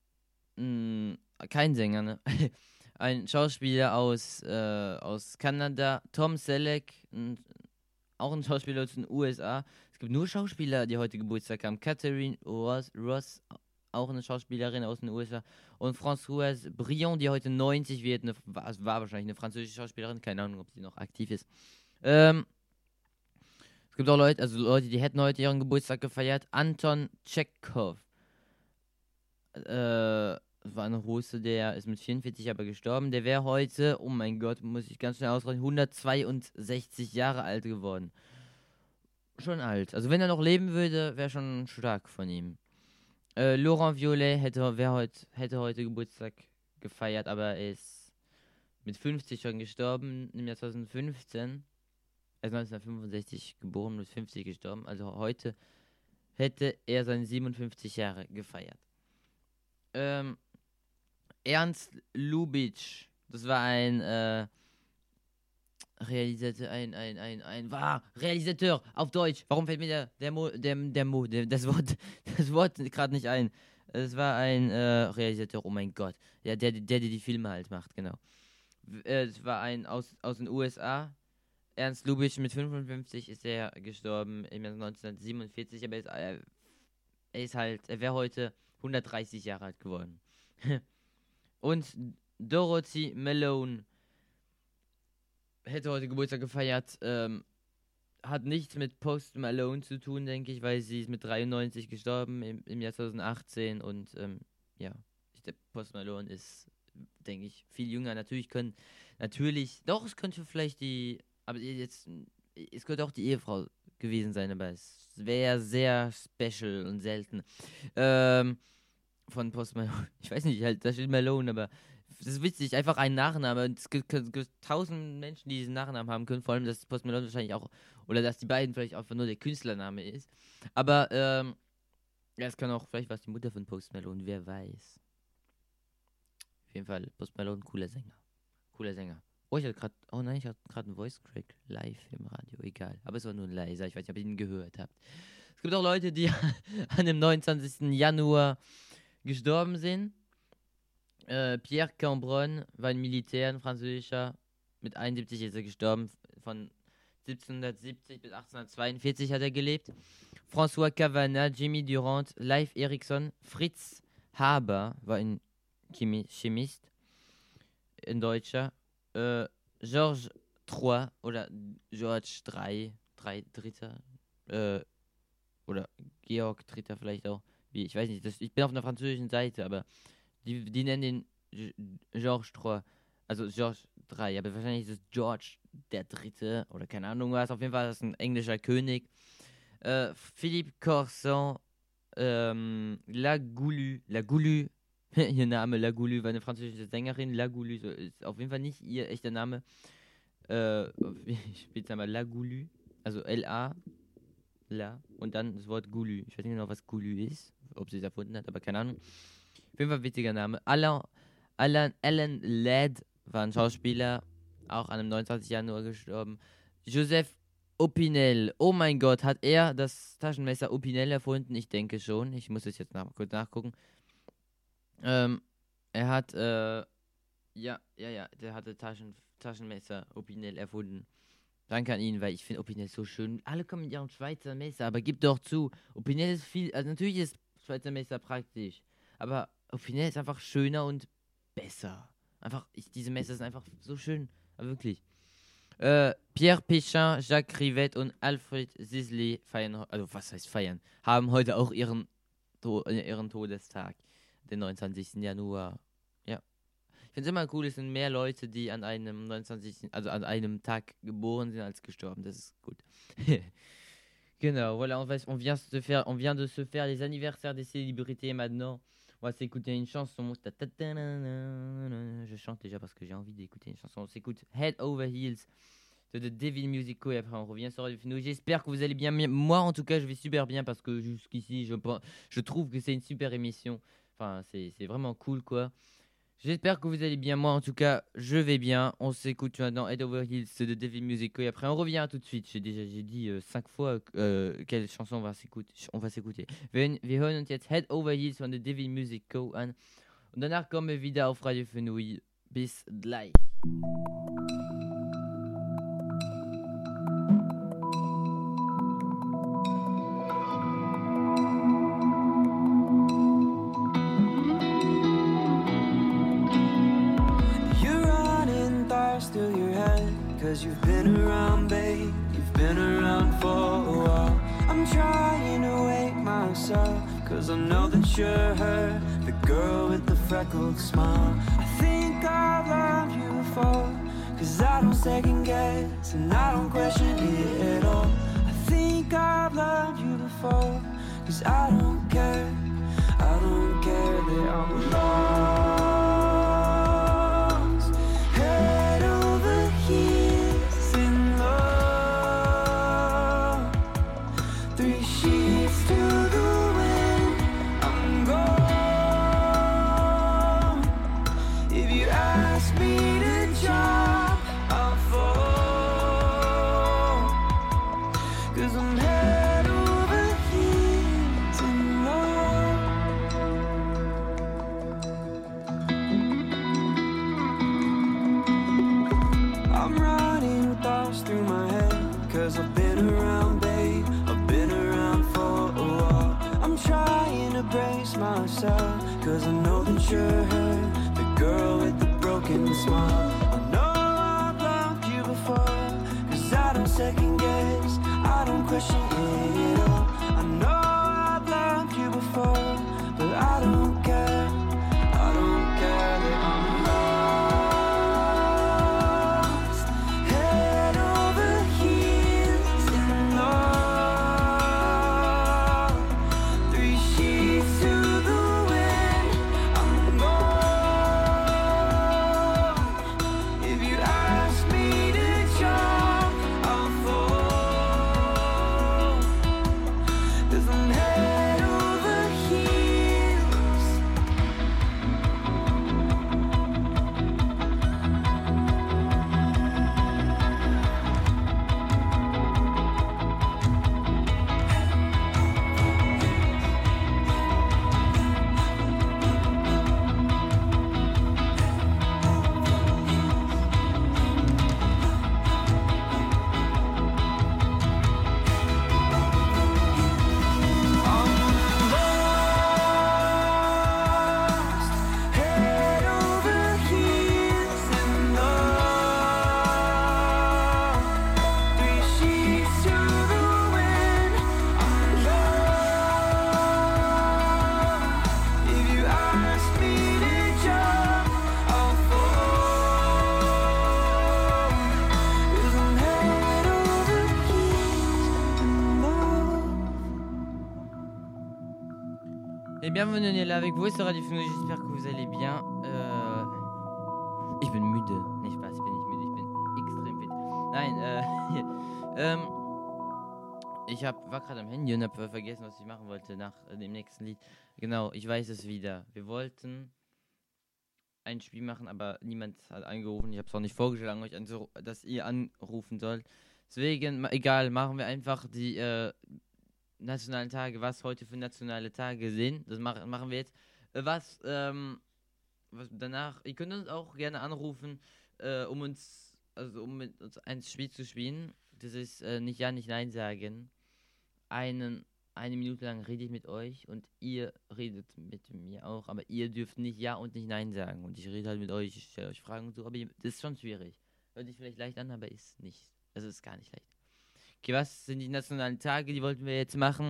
kein Sänger, ne? Ein Schauspieler aus Kanada. Tom Selleck, auch ein Schauspieler aus den USA. Es gibt nur Schauspieler, die heute Geburtstag haben. Catherine Ross, auch eine Schauspielerin aus den USA. Und Françoise Brion, die heute 90 wird. War wahrscheinlich eine französische Schauspielerin. Keine Ahnung, ob sie noch aktiv ist. Es gibt auch Leute, die hätten heute ihren Geburtstag gefeiert. Anton Tschekhov. Das war ein Russe, der ist mit 44 aber gestorben. Der wäre heute, oh mein Gott, muss ich ganz schnell ausrechnen, 162 Jahre alt geworden. Schon alt. Also wenn er noch leben würde, wäre schon stark von ihm. Laurent Violet hätte heute Geburtstag gefeiert, aber er ist mit 50 schon gestorben, im Jahr 2015. Er ist 1965 geboren, mit 50 gestorben. Also heute hätte er seine 57 Jahre gefeiert. Ernst Lubitsch, das war ein Realisateur auf Deutsch. Warum fällt mir das Wort gerade nicht ein? Es war ein Realisateur, oh mein Gott. Ja, der die Filme halt macht, genau. Es war ein aus den USA. Ernst Lubitsch, mit 55 ist er gestorben im Jahr 1947, aber er wäre heute 130 Jahre alt geworden. Und Dorothy Malone hätte heute Geburtstag gefeiert, hat nichts mit Post Malone zu tun, denke ich, weil sie ist mit 93 gestorben im Jahr 2018 und ja, der Post Malone ist, denke ich, viel jünger. Doch, es könnte vielleicht es könnte auch die Ehefrau gewesen sein, aber es wäre sehr special und selten. Von Post Malone, ich weiß nicht, halt, da steht Malone, aber das ist witzig, einfach ein Nachname. Es gibt 1000 Menschen, die diesen Nachnamen haben können, vor allem, dass Post Malone wahrscheinlich auch, oder dass die beiden vielleicht einfach nur der Künstlername ist. Aber, ja, es kann auch, vielleicht war es die Mutter von Post Malone, wer weiß. Auf jeden Fall, Post Malone, cooler Sänger. Oh, ich hatte gerade einen Voice Crack live im Radio, egal. Aber es war nur ein leiser, ich weiß nicht, ob ihr ihn gehört habt. Es gibt auch Leute, die an dem 29. Januar gestorben sind. Pierre Cambronne war ein Militär, ein französischer. Mit 71 ist er gestorben. Von 1770 bis 1842 hat er gelebt. François Cavana, Jimmy Durant, Leif Erikson, Fritz Haber war ein Chemist, ein Deutscher. Georges III oder George Dritter. Oder Georg Dritter vielleicht auch. Ich weiß nicht, ich bin auf einer französischen Seite, aber die nennen den Georges III, also Georges III, aber wahrscheinlich ist es George der Dritte oder keine Ahnung was, auf jeden Fall ist es ein englischer König. Philippe Corson, La Goulue, ihr Name La Goulue war eine französische Sängerin, La Goulue ist auf jeden Fall nicht ihr echter Name, ich spiele es mal La Goulue, also L-A, La, und dann das Wort Goulue. Ich weiß nicht genau, was Goulue ist, ob sie es erfunden hat, aber keine Ahnung. Auf jeden Fall witziger Name. Alan Ladd war ein Schauspieler, auch an dem 29. Januar gestorben. Joseph Opinel, oh mein Gott, hat er das Taschenmesser Opinel erfunden? Ich denke schon. Ich muss es jetzt kurz nachgucken. Er hat, der hatte Taschenmesser Opinel erfunden. Danke an ihn, weil ich finde Opinel so schön. Alle kommen mit ihrem Schweizer Messer, aber gib doch zu. Opinel ist also natürlich ist Schweizer Messer praktisch, aber Opinel ist einfach schöner und besser. Diese Messer sind einfach so schön, aber wirklich. Pierre Péchin, Jacques Rivette und Alfred Sisley haben heute auch ihren Todestag, den 29. Januar. Ja. Ich finde es immer cool, es sind mehr Leute, die an einem an einem Tag geboren sind, als gestorben. Das ist gut. Genau, voilà, on vient de se faire les anniversaires des célébrités maintenant. On va s'écouter une chanson. Je chante déjà parce que j'ai envie d'écouter une chanson. On s'écoute Head Over Heels de The Devil Music Co. Et après, on revient sur Radio Fenouil. J'espère que vous allez bien. Moi, en tout cas, je vais super bien parce que jusqu'ici, je trouve que c'est une super émission. Enfin, c'est vraiment cool, quoi. J'espère que vous allez bien. Moi, en tout cas, je vais bien. On s'écoute maintenant Head Over Heels de Devil Music Co. Et après, on revient tout de suite. J'ai dit 5 fois quelle chanson on va s'écouter. Wir hören uns jetzt Head Over Heels von The Devil Music Co. an. Und danach kommen wir wieder auf Radio Fenouil. Bis gleich. Cause you've been around, babe, you've been around for a while. I'm trying to wake myself, cause I know that you're her, the girl with the freckled smile. I think I've loved you before, cause I don't second guess and I don't question it at all. I think I've loved you before, cause I don't care that I'm lost. Head over heels in love, 3 sheets to the 'cause I've been around, babe, I've been around for a while. I'm trying to brace myself, 'cause I know that you're her, the girl with the broken smile. I know I've loved you before, 'cause I don't second guess, I don't question it at all. I know I've loved you before, but I don't care, I don't care that I'm lost, head over heels in love, 3 sheets to the wind, I'm gone. If you ask me to jump, I'll fall, 'cause I'm head over heels. Lost, head over heels in love, 3 sheets to the wind, I'm gone. If you ask me to jump, I'll fall, 'cause I'm head over heels in love. Et bienvenue, on est là avec vous sur Radio Fino, j'espère que vous allez bien. Ich bin müde. Nee, Spaß, ich bin nicht müde, ich bin extrem fit. Nein, ich war gerade am Handy und habe vergessen, was ich machen wollte nach dem nächsten Lied. Genau, ich weiß es wieder. Wir wollten ein Spiel machen, aber niemand hat angerufen. Ich habe es auch nicht vorgeschlagen, euch dass ihr anrufen sollt. Deswegen, egal, machen wir einfach die nationalen Tage, was heute für nationale Tage sind. Das machen wir jetzt. Was danach, ihr könnt uns auch gerne anrufen, um mit uns ein Spiel zu spielen. Das ist nicht Ja, nicht Nein sagen. Eine Minute lang rede ich mit euch und ihr redet mit mir auch, aber ihr dürft nicht Ja und nicht Nein sagen. Und ich rede halt mit euch, ich stelle euch Fragen und so, aber das ist schon schwierig. Hört sich vielleicht leicht an, aber ist nicht. Also ist gar nicht leicht. Okay, was sind die nationalen Tage? Die wollten wir jetzt machen.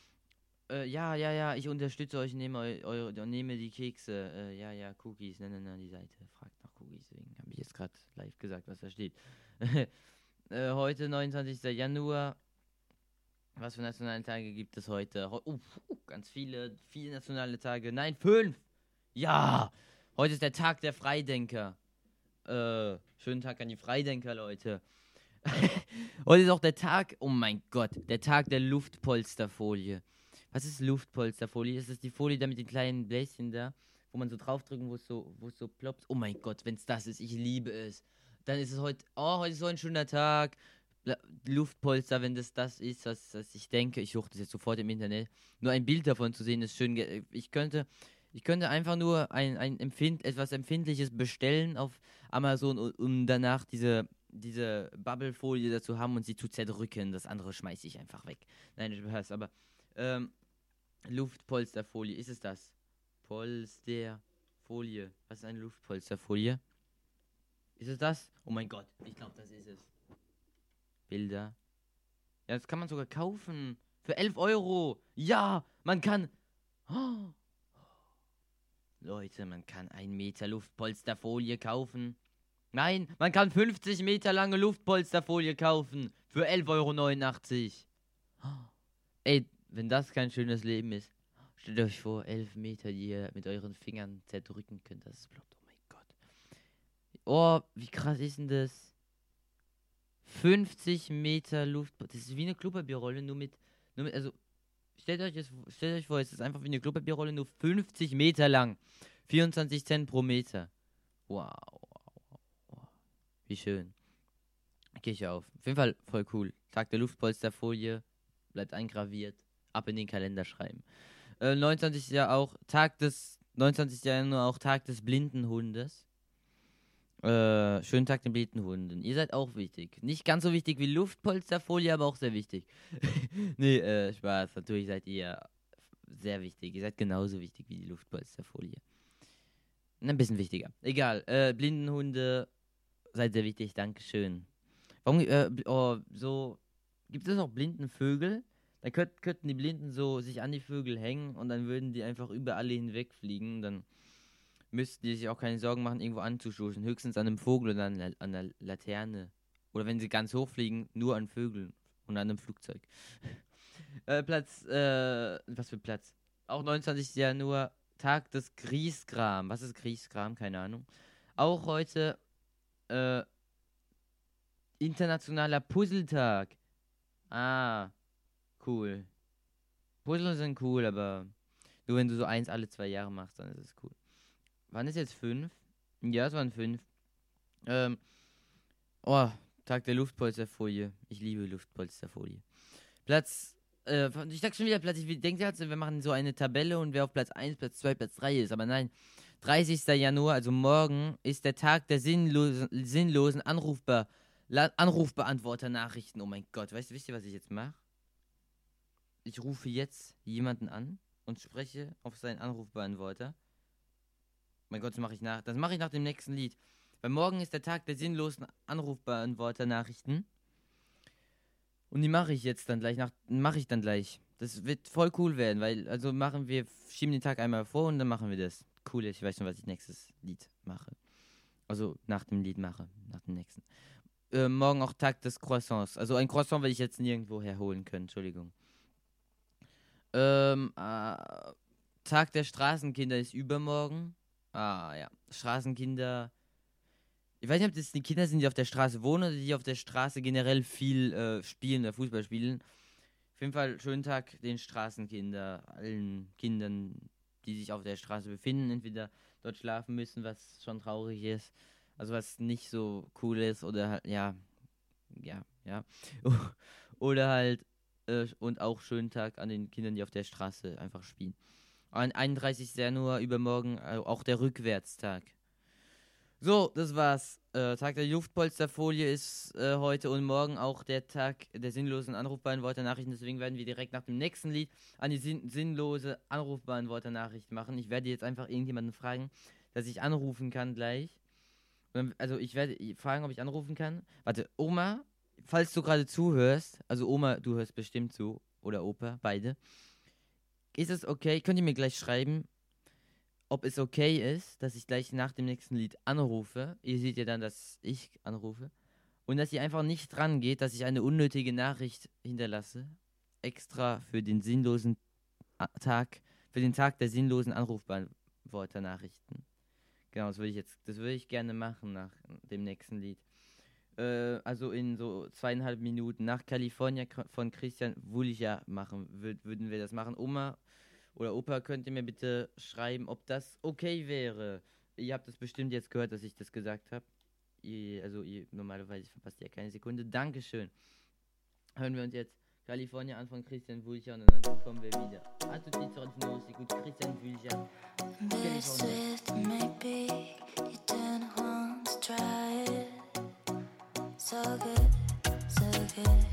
Ja, ich unterstütze euch, nehme die Kekse. Cookies. Nein, die Seite fragt nach Cookies. Deswegen habe ich jetzt gerade live gesagt, was da steht. Heute, 29. Januar. Was für nationale Tage gibt es heute? Ganz viele nationale Tage. Nein, 5! Ja! Heute ist der Tag der Freidenker. Schönen Tag an die Freidenker, Leute. Heute ist auch der Tag, oh mein Gott, der Tag der Luftpolsterfolie. Was ist Luftpolsterfolie? Ist das die Folie da mit den kleinen Bläschen da, wo man so draufdrücken, wo es so ploppt? Oh mein Gott, wenn es das ist, ich liebe es. Dann ist es heute ist so ein schöner Tag. Luftpolster, wenn das ist, was ich denke. Ich suche das jetzt sofort im Internet. Nur ein Bild davon zu sehen, ist schön. Ich könnte einfach nur etwas Empfindliches bestellen auf Amazon, um danach diese Bubblefolie dazu haben und sie zu zerdrücken. Das andere schmeiße ich einfach weg. Nein, ich weiß, aber Luftpolsterfolie, ist es das? Polsterfolie. Was ist eine Luftpolsterfolie? Ist es das? Oh mein Gott, ich glaube, das ist es. Bilder. Ja, das kann man sogar kaufen. Für 11 Euro. Ja, man kann... Oh. Leute, man kann 1 Meter Luftpolsterfolie kaufen. Nein, man kann 50 Meter lange Luftpolsterfolie kaufen. Für 11,89 Euro. Ey, wenn das kein schönes Leben ist. Stellt euch vor, 11 Meter, die ihr mit euren Fingern zerdrücken könnt. Das ist blöd. Oh mein Gott. Oh, wie krass ist denn das? 50 Meter Luftpolster. Das ist wie eine Klopapierrolle, nur mit also, stellt euch vor, es ist einfach wie eine Klopapierrolle, nur 50 Meter lang. 24 Cent pro Meter. Wow. Wie schön. Gehe ich auf. Auf jeden Fall voll cool. Tag der Luftpolsterfolie. Bleibt eingraviert. Ab in den Kalender schreiben. 29. Januar auch Tag des blinden Hundes. Schönen Tag den blinden Hunden. Ihr seid auch wichtig. Nicht ganz so wichtig wie Luftpolsterfolie, aber auch sehr wichtig. Nee, Spaß. Natürlich seid ihr sehr wichtig. Ihr seid genauso wichtig wie die Luftpolsterfolie. Ein bisschen wichtiger. Egal. Blinden Hunde, seid sehr wichtig. Dankeschön. Warum, so, gibt es auch blinden Vögel? Dann könnten die Blinden so sich an die Vögel hängen und dann würden die einfach über alle hinwegfliegen. Dann müssten die sich auch keine Sorgen machen, irgendwo anzustoßen. Höchstens an einem Vogel oder an der Laterne. Oder wenn sie ganz hoch fliegen, nur an Vögeln und an einem Flugzeug. Was für Platz? Auch 29. Januar, Tag des Griesgram. Was ist Griesgram? Keine Ahnung. Auch heute, internationaler Puzzletag. Ah, cool. Puzzle sind cool, aber nur wenn du so eins alle 2 Jahre machst, dann ist es cool. Wann ist jetzt 5? Ja, es waren 5. Tag der Luftpolsterfolie. Ich liebe Luftpolsterfolie. Ich sag schon wieder Platz, ich denke jetzt, wir machen so eine Tabelle und wer auf Platz 1, Platz 2, Platz 3 ist. Aber nein, 30. Januar, also morgen, ist der Tag der sinnlosen Anrufbeantworter-Nachrichten. Oh mein Gott, wisst ihr, was ich jetzt mache? Ich rufe jetzt jemanden an und spreche auf seinen Anrufbeantworter. Mein Gott, das mache ich nach dem nächsten Lied. Weil morgen ist der Tag der sinnlosen Anrufbeantworter-Nachrichten. Und die mache ich jetzt dann gleich. Das wird voll cool werden, weil, schieben den Tag einmal vor und dann machen wir das. Cool, ich weiß schon, was ich nächstes Lied mache. Also nach dem Lied mache, nach dem nächsten. Morgen auch Tag des Croissants. Also ein Croissant werde ich jetzt nirgendwo herholen können, Entschuldigung. Tag der Straßenkinder ist übermorgen. Ah, ja. Straßenkinder. Ich weiß nicht, ob das die Kinder sind, die auf der Straße wohnen oder die auf der Straße generell viel spielen oder Fußball spielen. Auf jeden Fall schönen Tag den Straßenkinder, allen Kindern, die sich auf der Straße befinden, entweder dort schlafen müssen, was schon traurig ist, also was nicht so cool ist oder halt, ja. Oder halt, und auch schönen Tag an den Kindern, die auf der Straße einfach spielen. Am 31. Januar übermorgen auch der Rückwärtstag. So, das war's. Tag der Luftpolsterfolie ist heute und morgen auch der Tag der sinnlosen Anrufbeantworter-Nachrichten. Deswegen werden wir direkt nach dem nächsten Lied an die sinnlose Anrufbeantworter-Nachricht machen. Ich werde jetzt einfach irgendjemanden fragen, dass ich anrufen kann gleich. Also ich werde fragen, ob ich anrufen kann. Warte, Oma, falls du gerade zuhörst, also Oma, du hörst bestimmt zu, oder Opa, beide. Ist es okay? Könnt ihr mir gleich schreiben, ob es okay ist, dass ich gleich nach dem nächsten Lied anrufe. Ihr seht ja dann, dass ich anrufe. Und dass ihr einfach nicht dran geht, dass ich eine unnötige Nachricht hinterlasse. Extra für den Tag der sinnlosen Anrufbeantworter-Nachrichten. Genau, das würde ich gerne machen nach dem nächsten Lied. Also in so 2,5 Minuten nach California von Christian Wulja machen, würden wir das machen. Oma oder Opa, könnt ihr mir bitte schreiben, ob das okay wäre. Ihr habt das bestimmt jetzt gehört, dass ich das gesagt habe. Normalerweise verpasst ihr ja keine Sekunde. Dankeschön. Hören wir uns jetzt California an von Christian Wulja und dann kommen wir wieder. A tutti i giorni gut Christian Wulja. So good, so good.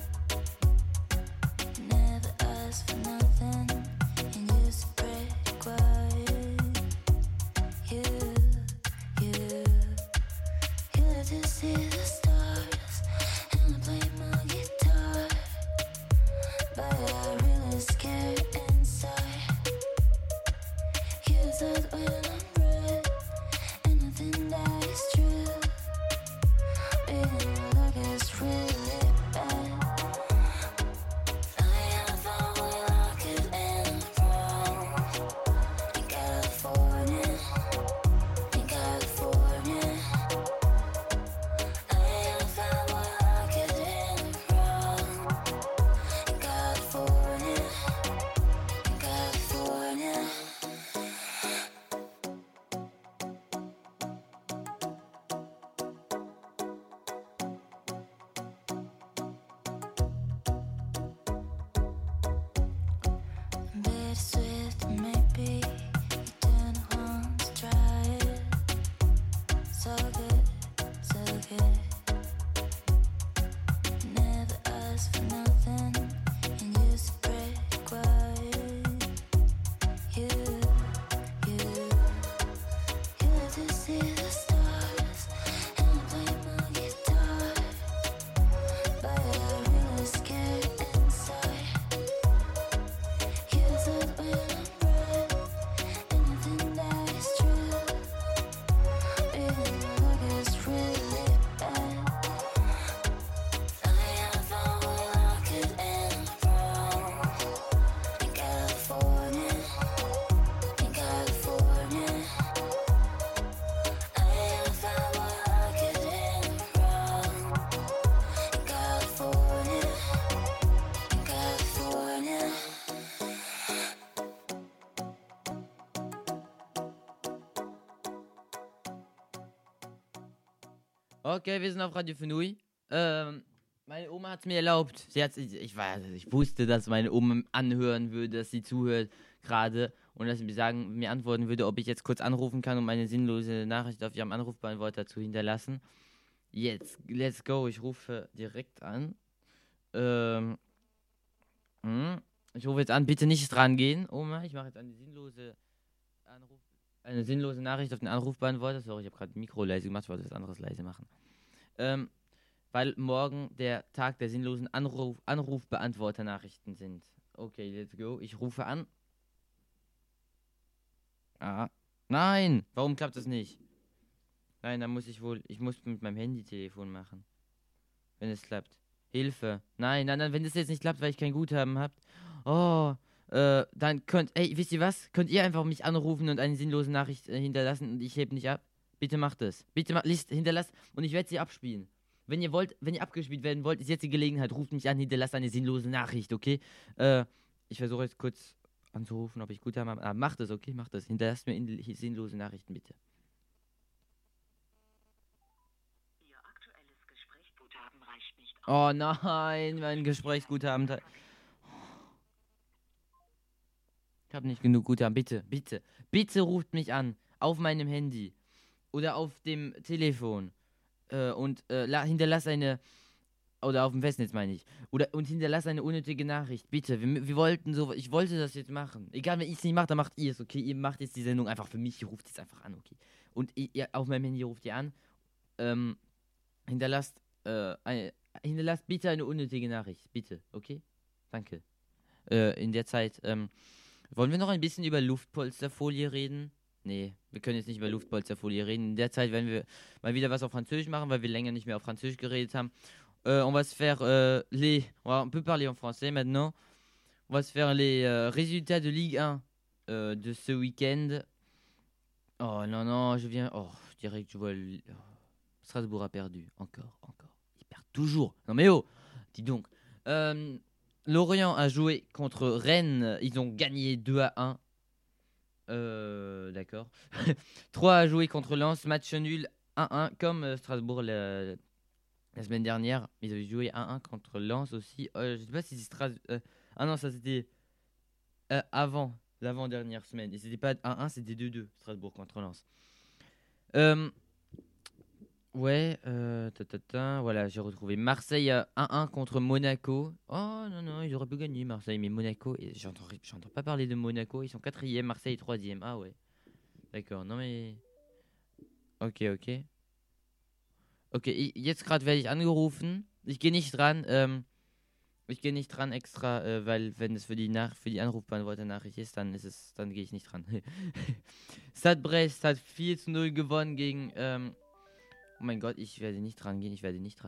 Never asked for nothing, and you spread quiet. You let to see the stars, and I play my guitar, but I'm really scared inside. You said when I'm red, and nothing that is true. Look as it. Never asked for nothing, and you spread quiet. You let to see the stars, and I play my guitar, but I'm really scared inside. You thought when I'm right, anything that is true, even though it's really bad. I found we lock it in wrong. In California, in California. I found we lock it in wrong. In California, in California. Okay, wir sind auf Radio Fenui. Meine Oma hat es mir erlaubt. Ich wusste, dass meine Oma anhören würde, dass sie zuhört gerade und dass sie mir antworten würde, ob ich jetzt kurz anrufen kann, um eine sinnlose Nachricht auf ihrem Anrufbeantworter zu hinterlassen. Jetzt, let's go. Ich rufe direkt an. Ich rufe jetzt an. Bitte nicht dran gehen, Oma. Ich mache jetzt eine sinnlose Nachricht auf den Anrufbeantworter. Sorry, ich habe gerade Mikro leise gemacht, ich wollte was anderes leise machen. Weil morgen der Tag der sinnlosen Anrufbeantworter-Nachrichten sind. Okay, let's go. Ich rufe an. Nein! Warum klappt das nicht? Nein, dann muss ich mit meinem Handy-Telefon machen. Wenn es klappt. Hilfe. Nein, wenn es jetzt nicht klappt, weil ich kein Guthaben habt. Dann wisst ihr was? Könnt ihr einfach mich anrufen und eine sinnlose Nachricht hinterlassen und ich heb nicht ab? Bitte macht es. Bitte hinterlasst und ich werde sie abspielen. Wenn ihr abgespielt werden wollt, ist jetzt die Gelegenheit. Ruft mich an, hinterlasst eine sinnlose Nachricht, okay? Ich versuche jetzt kurz anzurufen, ob ich Guthaben habe. Macht es, okay? Macht es. Hinterlasst mir sinnlose Nachrichten, bitte. Ihr aktuelles Gesprächsguthaben reicht nicht aus. Oh nein, mein Gesprächsguthaben. Ich habe nicht genug Guthaben. Bitte ruft mich an. Auf meinem Handy. Oder auf dem Telefon. Und hinterlasst oder auf dem Festnetz meine ich. Und hinterlasst eine unnötige Nachricht. Bitte. Ich wollte das jetzt machen. Egal, wenn ich es nicht mache, dann macht ihr es, okay? Ihr macht jetzt die Sendung einfach für mich. Ihr ruft jetzt einfach an, okay? Und ihr, auf meinem Handy ruft ihr an. Hinterlasst bitte eine unnötige Nachricht. Bitte, okay? Danke. In der Zeit, wollen wir noch ein bisschen über Luftpolsterfolie reden? Nee, wir können jetzt nicht über Luftpolsterfolie reden. In der Zeit werden wir mal wieder was auf Französisch machen, weil wir länger nicht mehr auf Französisch geredet haben. On va se faire on peut parler en français maintenant. On va se faire les résultats de Ligue 1 de ce week-end. Oh non, je dirais que je vois Strasbourg a perdu. Encore. Ils perdent toujours. Non mais dis donc. Lorient a joué contre Rennes. Ils ont gagné 2-1. D'accord. 3 a joué contre Lens. Match nul 1-1. Comme Strasbourg la semaine dernière. Ils avaient joué 1-1 contre Lens aussi. Je sais pas si c'est Strasbourg. Non, ça c'était avant l'avant-dernière semaine. Et c'était pas 1-1, c'était 2-2. Strasbourg contre Lens. Voilà, j'ai retrouvé Marseille 1-1 contre Monaco. Oh non, ils auraient pu gagner Marseille, mais Monaco, j'entends pas parler de Monaco, ils sont 4e, Marseille 3e. Ah ouais. D'accord, non mais... Ok, jetzt gerade werde ich angerufen. Ich gehe nicht dran extra, weil wenn es für die Anrufbeantworter-Nachricht ist, dann gehe ich nicht dran. Stade Brest hat 4-0 gewonnen gegen... Oh mein Gott, ich werde nicht dran gehen.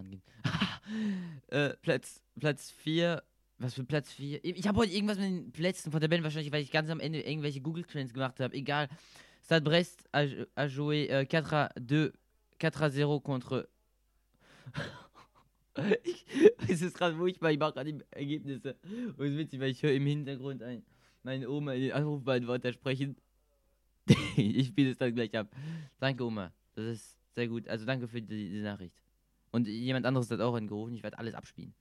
Platz 4. Was für Platz 4? Ich habe heute irgendwas mit den Plätzen von Tabellen, wahrscheinlich, weil ich ganz am Ende irgendwelche Google Trends gemacht habe. Egal. Stade Brest a joué 4-0 contre... Es ist gerade furchtbar, ich mache gerade die Ergebnisse. Und es ist witzig, weil ich höre im Hintergrund meine Oma in den Anrufbeantworter sprechen. Ich spiele es dann gleich ab. Danke, Oma. Das ist sehr gut. Also danke für die Nachricht. Und jemand anderes hat auch angerufen. Ich werde alles abspielen.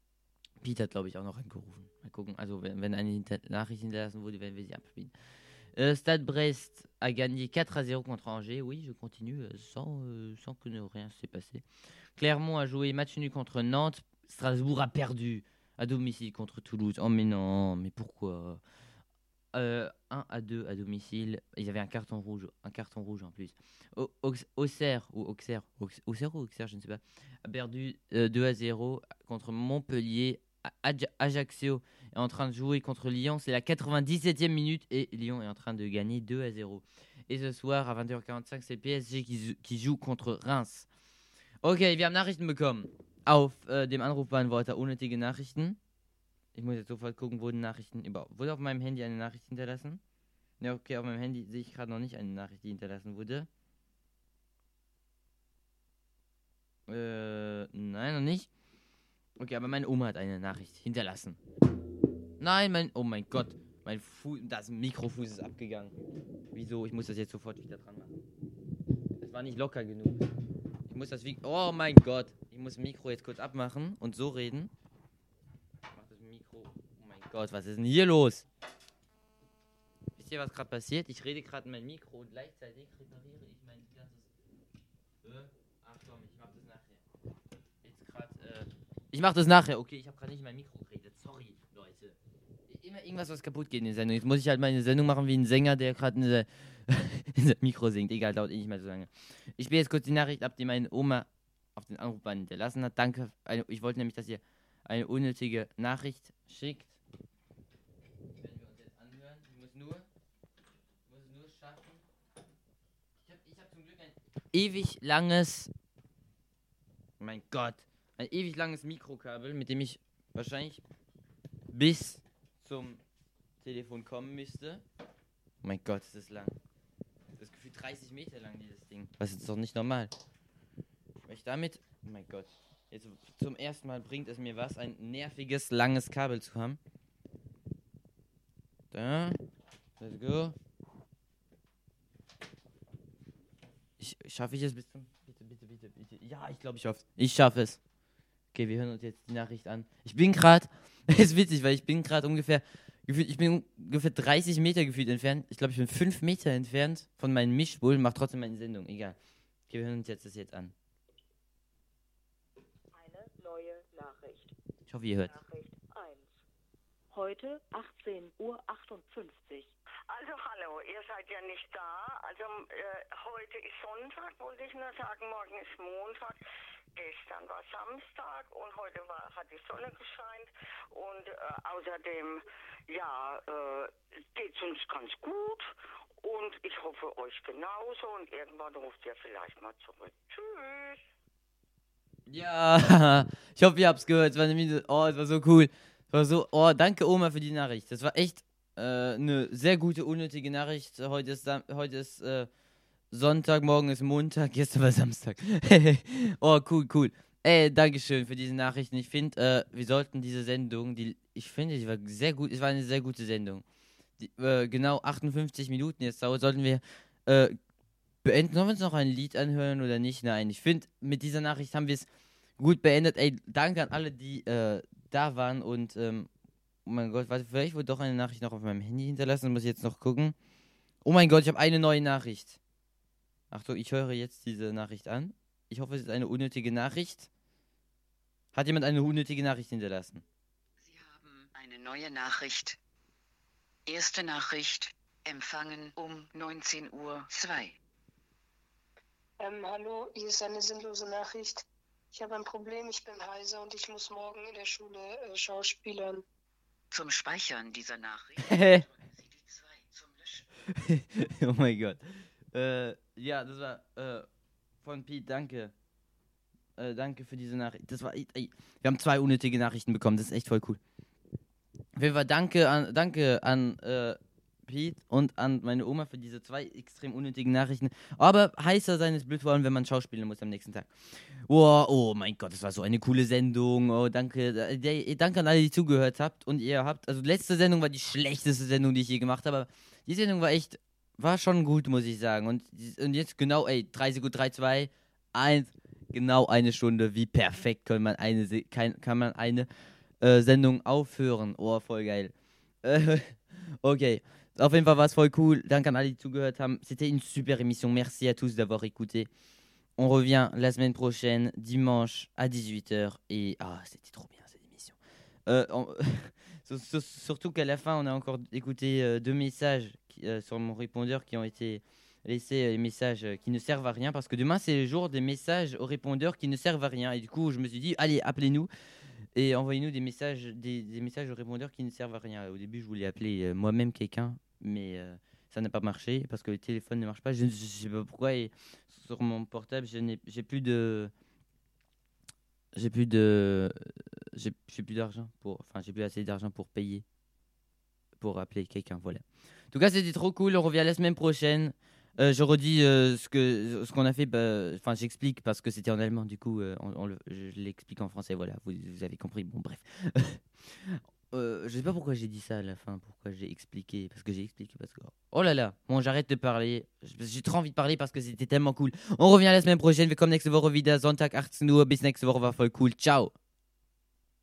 Peter hat, glaube ich, auch noch angerufen. Mal gucken. Also wenn eine Nachricht hinterlassen wurde, werden wir sie abspielen. Stade Brest a gagné 4-0 contre Angers. Oui, je continue sans que rien s'est passé. Clermont a joué match nul contre Nantes. Strasbourg a perdu à domicile contre Toulouse. Oh mais non, mais pourquoi 1-2 à domicile. Ils avaient un carton rouge en plus. Auxerre, je ne sais pas, a perdu 2-0 contre Montpellier. Ajaccio est en train de jouer contre Lyon. C'est la 97e minute et Lyon est en train de gagner 2-0. Et ce soir à 20h45, c'est PSG qui joue contre Reims. Okay, wir haben Nachrichten bekommen. Auf dem Anrufbeantworter unnötige Nachrichten. Ich muss jetzt sofort gucken, wurde auf meinem Handy eine Nachricht hinterlassen? Ja, okay, auf meinem Handy sehe ich gerade noch nicht eine Nachricht, die hinterlassen wurde. Nein, noch nicht. Okay, aber meine Oma hat eine Nachricht hinterlassen. Nein, oh mein Gott, das Mikrofuß ist abgegangen. Wieso? Ich muss das jetzt sofort wieder dran machen. Das war nicht locker genug. Ich muss das oh mein Gott, ich muss das Mikro jetzt kurz abmachen und so reden. Oh mein Gott, was ist denn hier los? Wisst ihr, was gerade passiert? Ich rede gerade in mein Mikro und gleichzeitig repariere ich mein ganzes... Ach komm, ich mach das nachher. Ich mach das nachher. Okay, ich habe gerade nicht in mein Mikro geredet. Sorry, Leute. Immer irgendwas, was kaputt geht in der Sendung. Jetzt muss ich halt meine Sendung machen wie ein Sänger, der gerade in der Mikro singt. Egal, dauert nicht mehr so lange. Ich spiele jetzt kurz die Nachricht ab, die meine Oma auf den Anrufband hinterlassen hat. Danke. Ich wollte nämlich, dass ihr eine unnötige Nachricht schickt. Die werden wir uns jetzt anhören. Ich muss nur schaffen. Ich hab zum Glück ein ewig langes Mikrokabel, mit dem ich wahrscheinlich bis zum Telefon kommen müsste. Oh mein Gott, ist das lang. Das ist gefühlt 30 Meter lang, dieses Ding. Das ist doch nicht normal. Weil ich damit... Oh mein Gott. Jetzt zum ersten Mal bringt es mir was, ein nerviges, langes Kabel zu haben. Da. Let's go. Schaffe ich es bis zum... Bitte. Ja, ich glaube, ich schaffe es. Okay, wir hören uns jetzt die Nachricht an. Ich bin gerade... ist witzig, weil ich bin gerade ungefähr 30 Meter gefühlt entfernt. Ich glaube, ich bin 5 Meter entfernt von meinem Mischpult und mache trotzdem meine Sendung. Egal. Okay, wir hören uns das jetzt an. Nachricht. Ich hoffe, ihr hört. Nachricht 1. Heute 18:58 Uhr. Also hallo, ihr seid ja nicht da. Also heute ist Sonntag, wollte ich nur sagen, morgen ist Montag. Gestern war Samstag und heute hat die Sonne gescheint und außerdem, geht es uns ganz gut und ich hoffe euch genauso und irgendwann ruft ihr vielleicht mal zurück. Tschüss. Ja, ich hoffe, ihr habt's gehört. Es war so cool. Danke Oma für die Nachricht. Das war echt eine sehr gute, unnötige Nachricht. Heute ist Sonntag, morgen ist Montag, gestern war Samstag. Cool. Dankeschön für diese Nachrichten. Ich finde, wir sollten diese Sendung, die war sehr gut, es war eine sehr gute Sendung. Genau 58 Minuten jetzt dauert, sollten wir beenden. Sollen wir uns noch ein Lied anhören oder nicht? Nein, ich finde, mit dieser Nachricht haben wir es gut beendet. Danke an alle, die da waren und, oh mein Gott, vielleicht wurde doch eine Nachricht noch auf meinem Handy hinterlassen, muss ich jetzt noch gucken. Oh mein Gott, ich habe eine neue Nachricht. Achtung, ich höre jetzt diese Nachricht an. Ich hoffe, es ist eine unnötige Nachricht. Hat jemand eine unnötige Nachricht hinterlassen? Sie haben eine neue Nachricht. Erste Nachricht, empfangen um 19:02 Uhr. Hallo, hier ist eine sinnlose Nachricht. Ich habe ein Problem, ich bin heiser und ich muss morgen in der Schule schauspielern. Zum Speichern dieser Nachricht drücken Sie die 2 zum Löschen. Oh mein Gott. Ja, das war von Pete, danke. Danke für diese Nachricht. Das war, wir haben 2 unnötige Nachrichten bekommen, das ist echt voll cool. Auf jeden Fall danke an Pete und an meine Oma für diese 2 extrem unnötigen Nachrichten. Aber heißer sein ist blöd, vor allem wenn man schauspielen muss am nächsten Tag. Oh mein Gott, das war so eine coole Sendung. Oh, danke. Danke an alle, die zugehört habt. Und also letzte Sendung war die schlechteste Sendung, die ich je gemacht habe. Aber die Sendung war schon gut, muss ich sagen. Und jetzt genau, 3 Sekunden, 3, 2, 1, genau eine Stunde. Wie perfekt kann man eine Sendung aufhören. Oh, voll geil. Okay. Auf jeden Fall war es voll cool. Danke an alle, die zugehört haben. C'était une super émission. Merci à tous d'avoir écouté. On revient la semaine prochaine, dimanche à 18h. Et c'était trop bien cette émission. Surtout qu'à la fin, on a encore écouté 2 messages sur mon répondeur qui ont été laissés, les messages qui ne servent à rien. Parce que demain, c'est le jour des messages au répondeur qui ne servent à rien. Et du coup, je me suis dit, allez, appelez-nous. Et envoyez-nous des messages au répondeur qui ne servent à rien. Au début, je voulais appeler moi-même quelqu'un, mais ça n'a pas marché parce que le téléphone ne marche pas. Je ne sais pas pourquoi. Et sur mon portable, j'ai plus d'argent j'ai plus assez d'argent pour payer pour appeler quelqu'un. Voilà. En tout cas, c'était trop cool. On revient la semaine prochaine. Je redis ce qu'on a fait. J'explique parce que c'était en allemand. Du coup, je l'explique en français. Voilà, vous avez compris. Bon, bref. Je sais pas pourquoi j'ai dit ça à la fin. Pourquoi j'ai expliqué. Parce que oh là là. Bon, j'arrête de parler. J'ai trop envie de parler parce que c'était tellement cool. On revient la semaine prochaine. Wir kommen nächste Woche wieder. Sonntag 18 Uhr. Bis nächste Woche. War voll cool. Ciao.